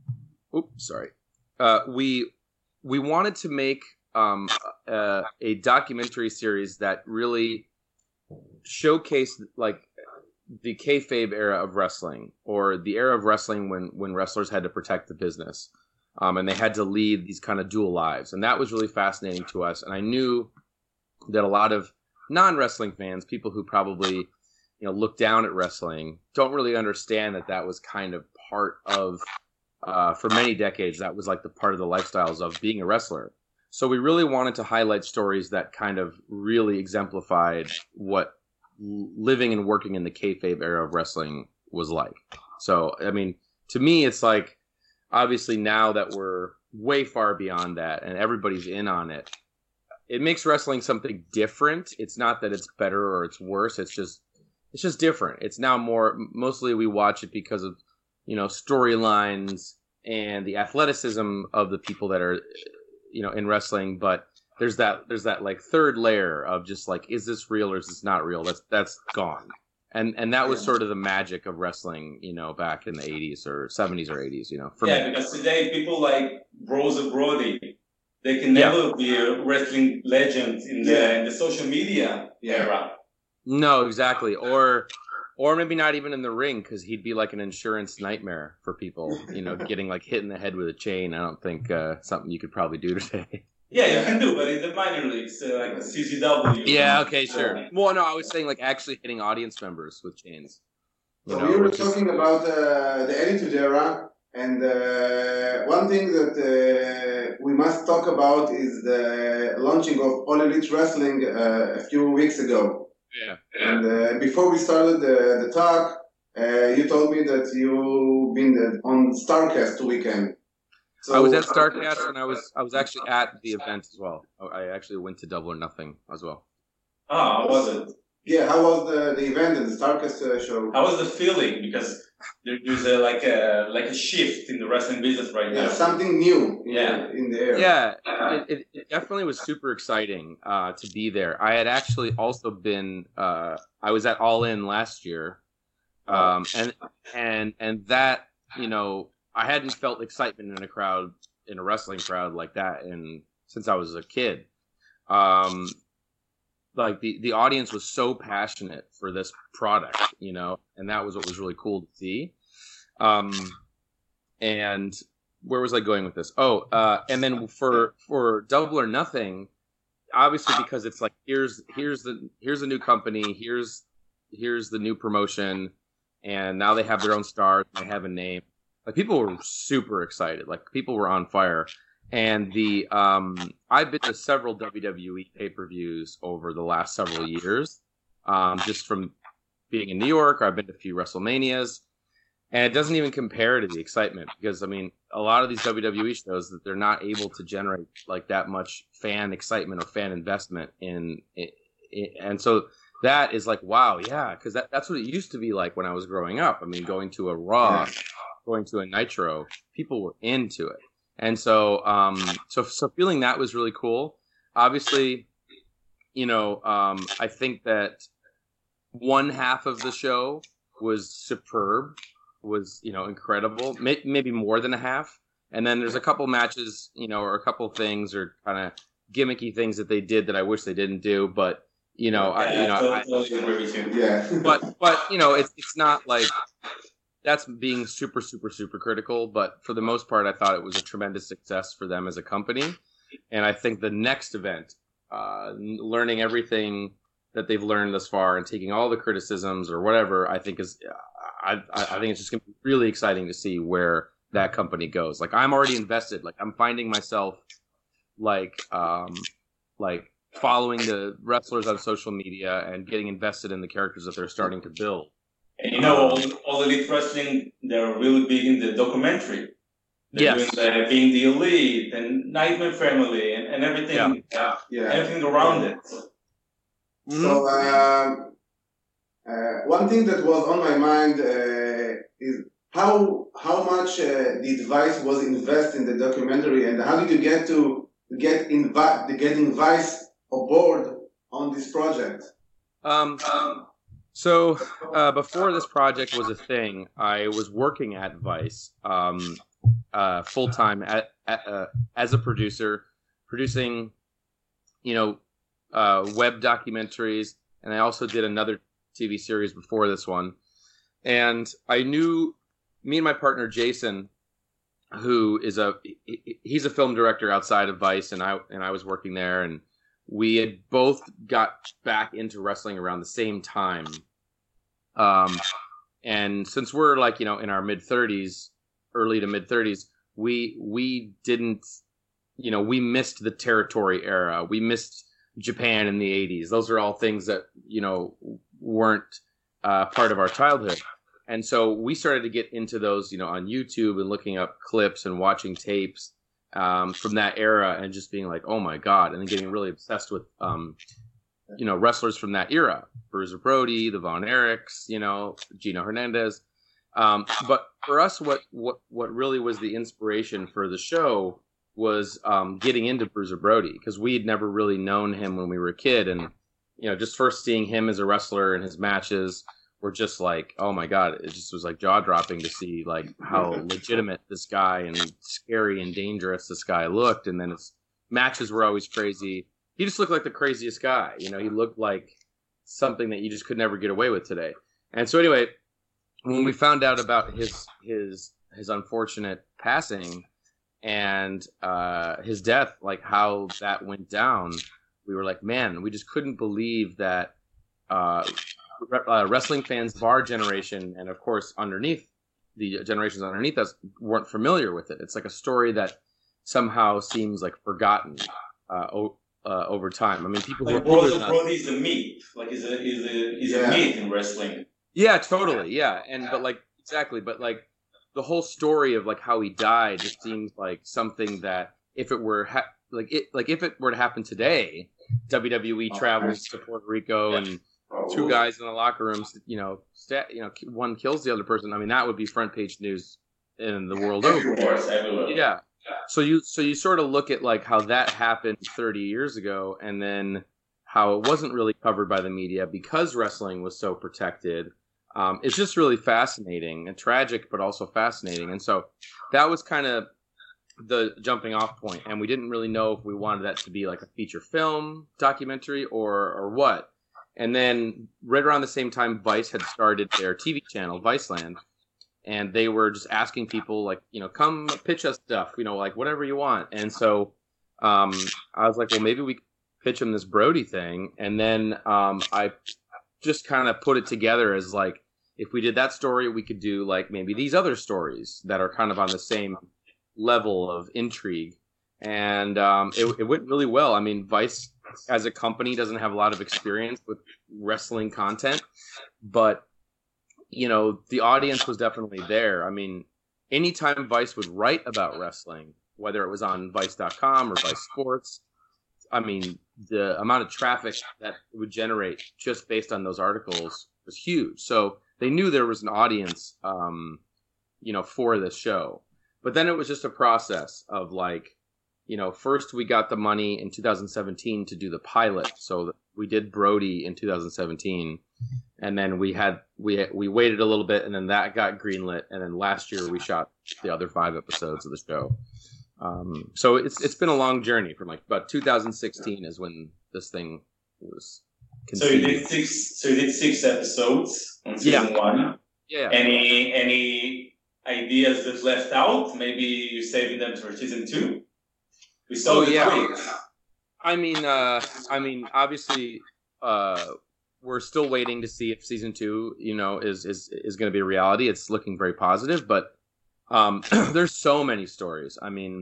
oops, sorry. Uh, we we wanted to make um, a, a documentary series that really showcased like the kayfabe era of wrestling, or the era of wrestling when when wrestlers had to protect the business, um, and they had to lead these kind of dual lives, and that was really fascinating to us. And I knew that a lot of non-wrestling fans, people who probably, you know, look down at wrestling, don't really understand that that was kind of part of, uh, for many decades, that was like the part of the lifestyles of being a wrestler. So we really wanted to highlight stories that kind of really exemplified what living and working in the kayfabe era of wrestling was like. So, I mean, to me, it's like, obviously now that we're way far beyond that and everybody's in on it, it makes wrestling something different. It's not that it's better or it's worse. It's just, it's just different. It's now more, mostly we watch it because of, you know, storylines and the athleticism of the people that are, you know, in wrestling. But there's that, there's that like third layer of just like, is this real or is this not real? That's, that's gone. And, and that was sort of the magic of wrestling, you know, back in the eighties or seventies or eighties, you know, for Yeah, me. because today people like Rosa Brody, they can Yeah. never be a wrestling legend in the Yeah. in the social media Yeah. era. No, exactly. Or, or maybe not even in the ring, because he'd be like an insurance nightmare for people, you know, getting like hit in the head with a chain. I don't think uh, something you could probably do today. Yeah, you can do, but in the minor leagues, uh, like the C C W. Yeah, okay, sure. Well, no, I was saying like actually hitting audience members with chains. You So know, we were which is- talking about uh, the Attitude Era, and uh, one thing that uh, we must talk about is the launching of All Elite Wrestling uh, a few weeks ago. yeah. And uh, before we started the, the talk, uh, you told me that you've been on StarCast weekend. So, I was at StarCast and I was I was actually at the event as well. I actually went to Double or Nothing as well. Oh, how was it? Yeah, how was the, the event and the StarCast uh, show? How was the feeling? Because there, there's a, like a like a shift in the wrestling business right Yeah, now. something new in, Yeah. in the air. Yeah, it, it, it definitely was super exciting uh, to be there. I had actually also been uh, I was at All In last year, um, and and and that, you know, I hadn't felt excitement in a crowd, in a wrestling crowd like that, in since I was a kid. Um, like the, the audience was so passionate for this product, you know, and that was what was really cool to see. Um, and where was I going with this? Oh, uh, and then for for Double or Nothing, obviously because it's like here's here's the here's a new company, here's here's the new promotion, and now they have their own stars, they have a name. Like people were super excited, like people were on fire. And the um, I've been to several W W E pay-per-views over the last several years, um, just from being in New York. I've been to a few WrestleManias, and it doesn't even compare to the excitement because I mean, a lot of these W W E shows that they're not able to generate like that much fan excitement or fan investment in, in, in and so that is like wow, yeah, because that, that's what it used to be like when I was growing up. I mean, going to a Raw, going to a Nitro, people were into it. And so, um, so, so feeling that was really cool. Obviously, you know, um, I think that one half of the show was superb, was, you know, incredible, May- maybe more than a half. And then there's a couple matches, you know, or a couple things or kind of gimmicky things that they did that I wish they didn't do. But, you know, I, you know, I, totally agree with you. Yeah. but, but, you know, it's, it's not like, that's being super, super, super critical. But for the most part, I thought it was a tremendous success for them as a company. And I think the next event, uh, learning everything that they've learned thus far and taking all the criticisms or whatever, I think is, I, I think it's just going to be really exciting to see where that company goes. Like I'm already invested. Like I'm finding myself like, um, like following the wrestlers on social media and getting invested in the characters that they're starting to build. And you know, all, all Elite Wrestling, they're really big in the documentary. They're Yes. doing the, being the Elite and Nightmare Family and, and everything, uh, Yeah. everything around it. So um, uh, one thing that was on my mind uh, is how how much uh, did Vice was invest in the documentary, and how did you get to get invi- getting Vice aboard on this project? Um, so uh, before this project was a thing, I was working at Vice um, uh, full time at, at uh, as a producer, producing, you know, uh, web documentaries, and I also did another T V series before this one. And I knew me and my partner Jason, who is a he's a film director outside of Vice, and I and I was working there, and we had both got back into wrestling around the same time. Um, and since we're like, you know, in our mid thirties, early to mid thirties, we we didn't, you know, we missed the territory era. We missed Japan in the eighties. Those are all things that, you know, weren't uh, part of our childhood. And so we started to get into those, you know, on YouTube and looking up clips and watching tapes um, from that era and just being like, oh my God, and then getting really obsessed with, um, you know, wrestlers from that era. Bruiser Brody, the Von Erichs, you know, Gino Hernandez. Um, but for us, what, what, what really was the inspiration for the show was um, getting into Bruiser Brody, because we had never really known him when we were a kid. And, you know, just first seeing him as a wrestler and his matches were just like, oh my God, it just was like jaw dropping to see like how legitimate this guy and scary and dangerous this guy looked. And then his matches were always crazy. He just looked like the craziest guy. You know, he looked like something that you just could never get away with today. And so anyway, when we found out about his his his unfortunate passing and uh, his death, like how that went down, we were like, man, we just couldn't believe that uh, uh, wrestling fans of our generation, and of course underneath the generations underneath us, weren't familiar with it. It's like a story that somehow seems like forgotten uh, o- uh, over time. I mean, people like who are older than us, Brody is a myth, like is a is a is yeah. a myth in wrestling. Yeah, totally. Yeah, and but like exactly, but like the whole story of like how he died just seems like something that if it were ha- like it like if it were to happen today, W W E travels to Puerto Rico and two guys in the locker rooms, you know, stat, you know, one kills the other person. I mean, that would be front page news in the world over. Yeah. So you so you sort of look at like how that happened thirty years ago, and then how it wasn't really covered by the media because wrestling was so protected. Um, it's just really fascinating and tragic, but also fascinating. And so that was kind of the jumping off point. And we didn't really know if we wanted that to be like a feature film documentary or or what. And then right around the same time, Vice had started their T V channel, Viceland. And they were just asking people like, you know, come pitch us stuff, you know, like whatever you want. And so um, I was like, well, maybe we could pitch him this Brody thing. And then um, I just kind of put it together as like, if we did that story, we could do like maybe these other stories that are kind of on the same level of intrigue. And um, it, it went really well. I mean, Vice as a company doesn't have a lot of experience with wrestling content, but you know, the audience was definitely there. I mean, anytime Vice would write about wrestling, whether it was on Vice dot com or Vice Sports, I mean, the amount of traffic that it would generate just based on those articles was huge. So they knew there was an audience, um, you know, for this show. But then it was just a process of like, you know, first we got the money in two thousand seventeen to do the pilot. So we did Brody in two thousand seventeen. And then we had we we waited a little bit, and then that got greenlit. And then last year we shot the other five episodes of the show. Um, so it's it's been a long journey from like about two thousand sixteen is when this thing was conceived. So you did six. So you did six episodes on season yeah. one. Yeah. Any any ideas that left out? Maybe you're saving them for season two. We saw oh, the yeah. tweets. I mean, uh, I mean, obviously. Uh, We're still waiting to see if season two, you know, is is is going to be a reality. It's looking very positive, but um, there's so many stories. I mean,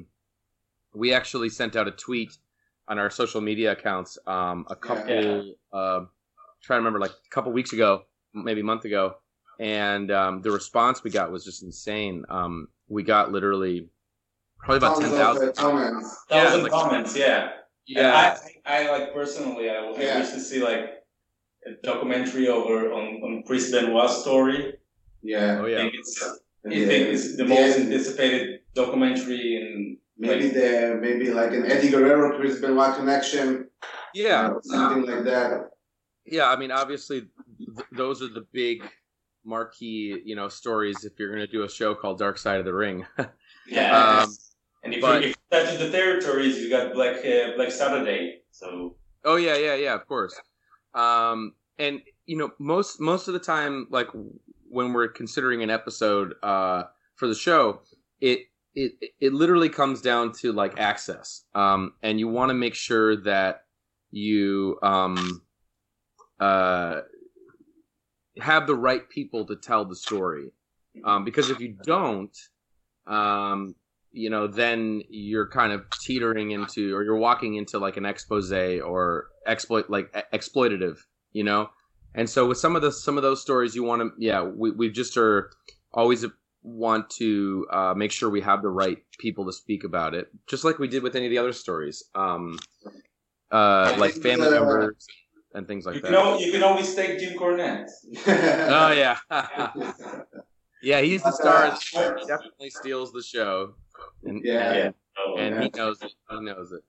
we actually sent out a tweet on our social media accounts um, a couple, yeah. uh, trying to remember, like a couple weeks ago, maybe a month ago, and um, the response we got was just insane. Um, we got literally probably about ten thousand comments. Thousand yeah, like, comments, yeah. Yeah. I, I like personally, I, I yeah. wish to see like a documentary over on, on Chris Benoit's story. Yeah. Oh I yeah. think it's, I think it's the most anticipated documentary in maybe like, the maybe like an Eddie Guerrero Chris Benoit connection. Yeah. Or something like that. Yeah, I mean, obviously, th- those are the big marquee, you know, stories. If you're going to do a show called Dark Side of the Ring, yeah. um, and if but, you if you touch the territories, you got Black uh, Black Saturday. So. Oh yeah, yeah, yeah. Of course. Um, and you know, most most of the time, like when we're considering an episode uh, for the show, it it it literally comes down to like access, um, and you want to make sure that you um, uh, have the right people to tell the story, um, because if you don't, um, you know, then you're kind of teetering into, or you're walking into like an expose or exploit, like exploitative, you know. And so with some of the some of those stories, you want to, yeah, we we just are always want to uh, make sure we have the right people to speak about it, just like we did with any of the other stories, um, uh, like family uh, members and things like you that. Can al- you can always take Jim Cornette. Oh yeah, yeah, he's the star. He definitely steals the show, and yeah, and, yeah. Oh, and yeah. he knows it. He knows it.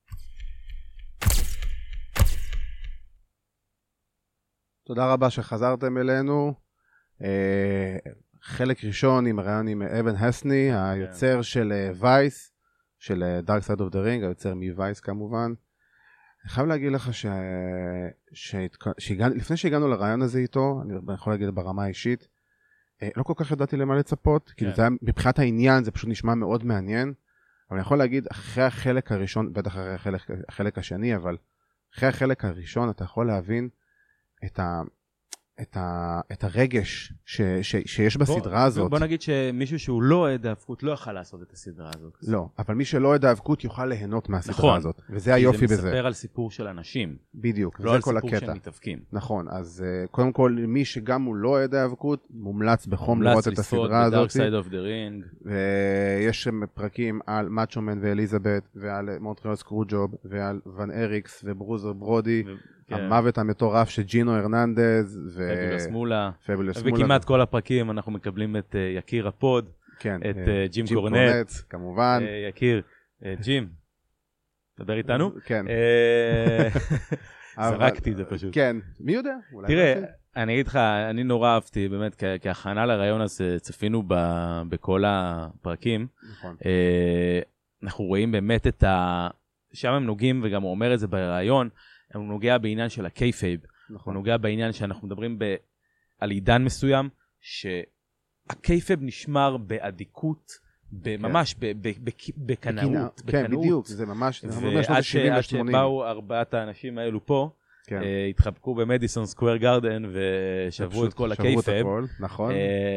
תודה רבה שחזרתם אלינו. חלק ראשון עם הרעיון עם אבן הסני, היוצר של וייס, של Dark Side of the Ring, היוצר מווייס כמובן. אני חייב להגיד לך ש... לפני שהגענו לרעיון הזה איתו, אני יכול להגיד ברמה האישית, לא כל כך ידעתי למה לצפות, כאילו זה היה, מבחינת העניין זה פשוט נשמע מאוד מעניין, אבל אני יכול להגיד אחרי החלק הראשון, בטח אחרי החלק, החלק השני, אבל אחרי החלק הראשון אתה יכול להבין את ה... את, ה, את הרגש ש, ש, שיש בסדרה בוא, הזאת. בוא נגיד שמישהו שהוא לא אוהד האבקות לא יוכל לעשות את הסדרה הזאת. לא, אבל מי שלא אוהד האבקות יוכל ליהנות מהסדרה נכון, הזאת. וזה היופי בזה. זה מספר על סיפור של אנשים. בדיוק, לא זה על כל סיפור הקטע. שהם מתאבקים. נכון, אז uh, קודם כל מי שגם הוא לא אוהד האבקות, מומלץ בחום לראות את הסדרה הזאת. מומלץ לצפות ב-Dark Side of the Ring. ויש שם פרקים על מאצ'ומן ואליזבת, ועל מונטריאל סקרוג'וב, ועל ון אריקס וברוזר ברודי. ו... המוות המטורף של ג'ינו הרננדז פבולוס מולה, פבולוס מולה, וכמעט כל הפרקים אנחנו מקבלים את יקיר הפוד, כן, את ג'ים קורנט, כמובן, יקיר, ג'ים, תדבר איתנו? כן, זרקתי את זה פשוט. כן, מי יודע? תראה, אני אגיד לך, אני נורא אהבתי, באמת, כהכנה לרעיון הזה, צפינו בכל הפרקים, אנחנו רואים באמת את ה... שם הם נוגעים, וגם הוא אומר את זה ברעיון, הוא נוגע בעניין של הקייפייב, הוא נוגע בעניין שאנחנו מדברים ב... על עידן מסוים, שהקייפייב נשמר באדיקות, ממש בקנאות. כן, בדיוק, זה ממש... ועד שבאו ארבעת האנשים האלו פה, התחבקו במדיסון סקוואר גארדן, ושברו את כל הקייפייב. נכון.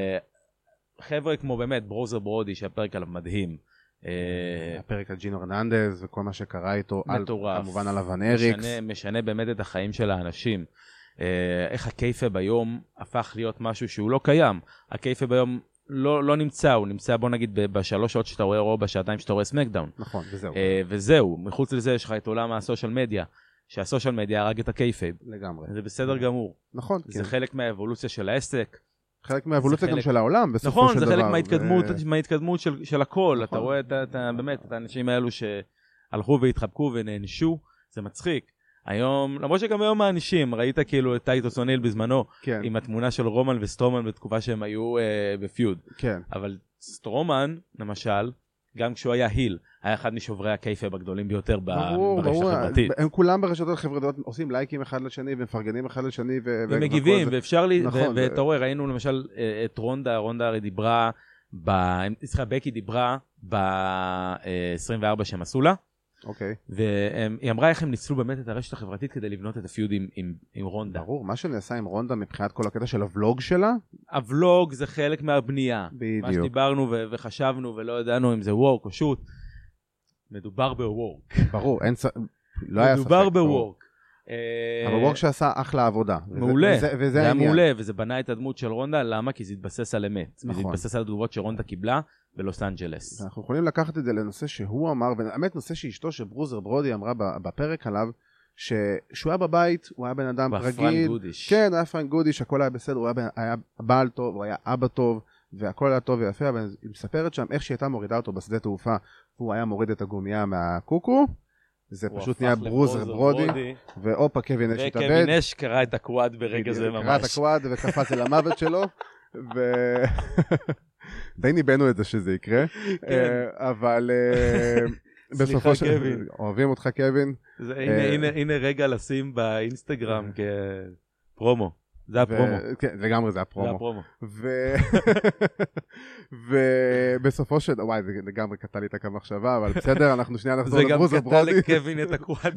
חבר'ה כמו באמת, ברוזר ברודי, שהפרק עליו מדהים, הפרק על ג'ינו הרננדז וכל מה שקרה איתו, כמובן על ון אריקס. משנה באמת את החיים של האנשים. איך הקייפאב היום הפך להיות משהו שהוא לא קיים. הקייפאב היום לא נמצא, הוא נמצא בוא נגיד בשלוש שעות שאתה רואה או בשעתיים שאתה רואה סמקדאון. נכון, וזהו. וזהו, מחוץ לזה יש לך את עולם הסושיאל מדיה, שהסושיאל מדיה הרג את הקייפאב. לגמרי. זה בסדר גמור. נכון. זה חלק מהאבולוציה של העסק. חלק מהאבולוציה גם של העולם בסופו נכון, של דבר. נכון, זה חלק מההתקדמות, מההתקדמות של, של הכל. נכון. אתה רואה את, את, באמת את האנשים האלו שהלכו והתחבקו ונענשו, זה מצחיק. היום, למרות שגם היום האנשים, ראית כאילו את טייטוס אוניל בזמנו, כן. עם התמונה של רומן וסטרומן בתקופה שהם היו אה, בפיוד. כן. אבל סטרומן, למשל, גם כשהוא היה היל, היה אחד משוברי הקייפאב הגדולים ביותר ברשת החברתית. הם כולם ברשתות החברתיות עושים לייקים אחד לשני ומפרגנים אחד לשני. ומגיבים, ואפשר לי, ואתה רואה, ראינו למשל את רונדה, רונדה הרי דיברה, צריכה בקי דיברה ב-עשרים וארבע שהם עשו לה, אוקיי. והיא אמרה איך הם ניצלו באמת את הרשת החברתית כדי לבנות את הפיוד עם, עם, עם רונדה. ברור, מה שנעשה עם רונדה מבחינת כל הקטע של הוולוג שלה? הוולוג זה חלק מהבנייה. בדיוק. מה שדיברנו ו- וחשבנו ולא ידענו אם זה וורק או שוט. מדובר בוורק. ברור, אין ס... לא היה ספק. מדובר בוורק. אבל וורק שעשה אחלה עבודה. מעולה. וזה, וזה זה היה העניין. מעולה, וזה בנה את הדמות של רונדה, למה? כי זה התבסס על אמת. נכון. זה התבסס על התגובות שרונדה קיבלה בלוס אנג'לס. אנחנו יכולים לקחת את זה לנושא שהוא אמר, והאמת נושא שאשתו שברוזר ברודי אמרה בפרק עליו, שכשהוא היה בבית, הוא היה בן אדם רגיל. פרנק גודיש. כן, הוא היה פרנק גודיש, הכל היה בסדר, הוא היה, בן, היה בעל טוב, הוא היה אבא טוב, והכל היה טוב ויפה, אבל היא מספרת שם איך שהיא הייתה מורידה אותו בשדה תעופה, והוא היה מוריד את הגומייה מהקוקו, זה פשוט נהיה ברוזר ברודי, ואופה, קווין אש התאבד. וקווין אש קרא את הקוואד ברגע זה ממש. קרא את הקוואד וקפץ אל המוות שלו, ו... די ניבנו את זה שזה יקרה, אבל בסופו של... אוהבים אותך קווין. הנה רגע לשים באינסטגרם כפרומו. זה הפרומו. כן, לגמרי זה הפרומו. זה הפרומו. ובסופו של... וואי, זה לגמרי קטע לי את הקו מחשבה, אבל בסדר, אנחנו שנייה נחזור לברוזר ברודי. זה גם קטע לקווין את הקוואד.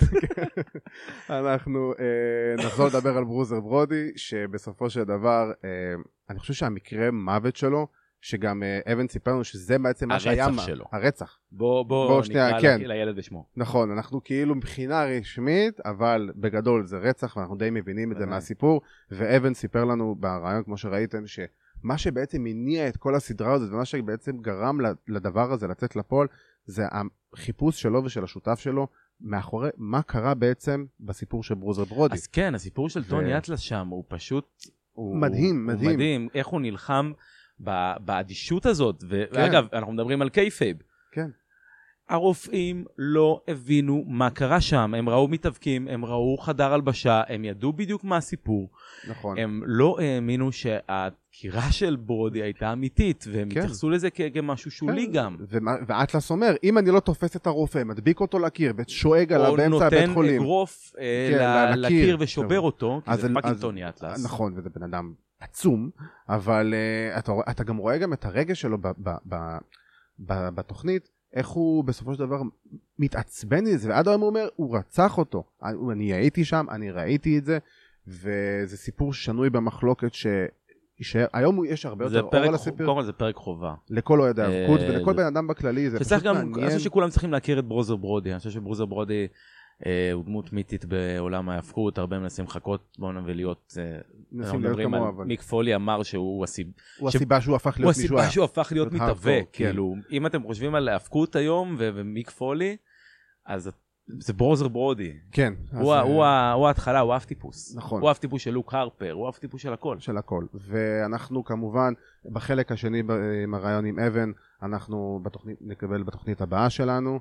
אנחנו נחזור לדבר על ברוזר ברודי, שבסופו של דבר, אני חושב שהמקרה מוות שלו, שגם אבן סיפר לנו שזה בעצם מה שהיה... הרצח שלו. הרצח. בוא, בוא נקרא לילד בשמו. נכון, אנחנו כאילו מבחינה רשמית, אבל בגדול זה רצח, ואנחנו די מבינים את זה מהסיפור, ואבן סיפר לנו ברעיון, כמו שראיתם, שמה שבעצם הניע את כל הסדרה הזאת, ומה שבעצם גרם לדבר הזה לצאת לפועל, זה החיפוש שלו ושל השותף שלו, מאחורי מה קרה בעצם בסיפור של ברוזר ברודי. אז כן, הסיפור של טוני אטלס שם, הוא פשוט... מדהים, מדהים. הוא מדהים, איך הוא נלחם באדישות הזאת, ואגב, אנחנו מדברים על קייפייב. כן. הרופאים לא הבינו מה קרה שם, הם ראו מתאבקים, הם ראו חדר הלבשה, הם ידעו בדיוק מה הסיפור. נכון. הם לא האמינו שהדקירה של ברודי הייתה אמיתית, והם התייחסו לזה כמשהו שולי גם. ואטלס אומר, אם אני לא תופס את הרופא, מדביק אותו לקיר, ושואג עליו באמצע הבית חולים. או נותן אגרוף לקיר ושובר אותו, כי זה פאקינג טוני אטלס. נכון, וזה בן אדם עצום, אבל אתה גם רואה גם את הרגש שלו בתוכנית, איך הוא בסופו של דבר מתעצבן מזה, ועד היום הוא אומר, הוא רצח אותו. אני הייתי שם, אני ראיתי את זה, וזה סיפור שנוי במחלוקת שישאר. היום יש הרבה יותר אור על הסיפור. קודם כל זה פרק חובה. לכל אוהד האבקות, ולכל בן אדם בכללי, זה פשוט מעניין. אני חושב שכולם צריכים להכיר את ברוזר ברודי. אני חושב שברוזר ברודי הוא דמות מיתית בעולם ההאבקות, הרבה מנסים לחכות בו ולהיות... מנסים להיות כמו, אבל... מיק פולי אמר שהוא הסיבה... הוא הסיבה שהוא הפך להיות מישהו... הוא הסיבה שהוא הפך להיות מתאבק, כאילו. אם אתם חושבים על ההאבקות היום ומיק פולי, אז זה ברוזר ברודי. כן. הוא ההתחלה, הוא אף טיפוס. נכון. הוא אף טיפוס של לוק הרפר, הוא אף טיפוס של הכל. של הכל. ואנחנו כמובן, בחלק השני עם הרעיון עם אבן, אנחנו נקבל בתוכנית הבאה שלנו.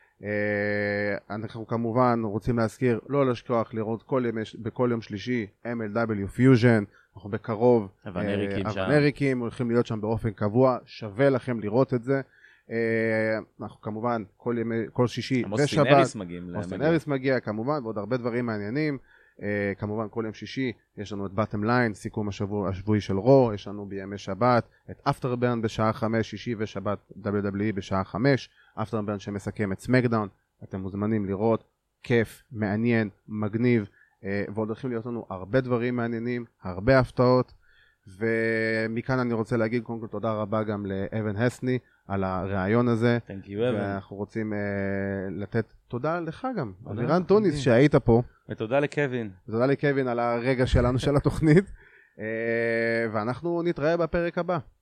אנחנו כמובן רוצים להזכיר, לא לשכוח לראות בכל יום שלישי אם אל דאבליו Fusion, אנחנו בקרוב אבנריקים הולכים להיות שם באופן קבוע, שווה לכם לראות את זה. אנחנו כמובן כל, ימי, כל שישי ושבת מוסטנריס מגיע כמובן, ועוד הרבה דברים מעניינים. כמובן כל יום שישי יש לנו את בטם ליין, סיכום השבוע השבועי של רו, יש לנו בימי שבת את אפטרברן בשעה חמש, שישי ושבת דאבליו דאבליו אי בשעה חמש, אפטרברן שמסכם את סמקדאון. אתם מוזמנים לראות, כיף, מעניין, מגניב, ועוד הולכים להיות לנו הרבה דברים מעניינים, הרבה הפתעות. ומכאן אני רוצה להגיד קודם כל תודה רבה גם לאבן הסני על הרעיון הזה. Thank you, Evan. ואנחנו רוצים uh, לתת תודה לך גם, אלירן טוניס שהיית פה. ותודה לקווין. ותודה לקווין על הרגע שלנו של התוכנית. uh, ואנחנו נתראה בפרק הבא.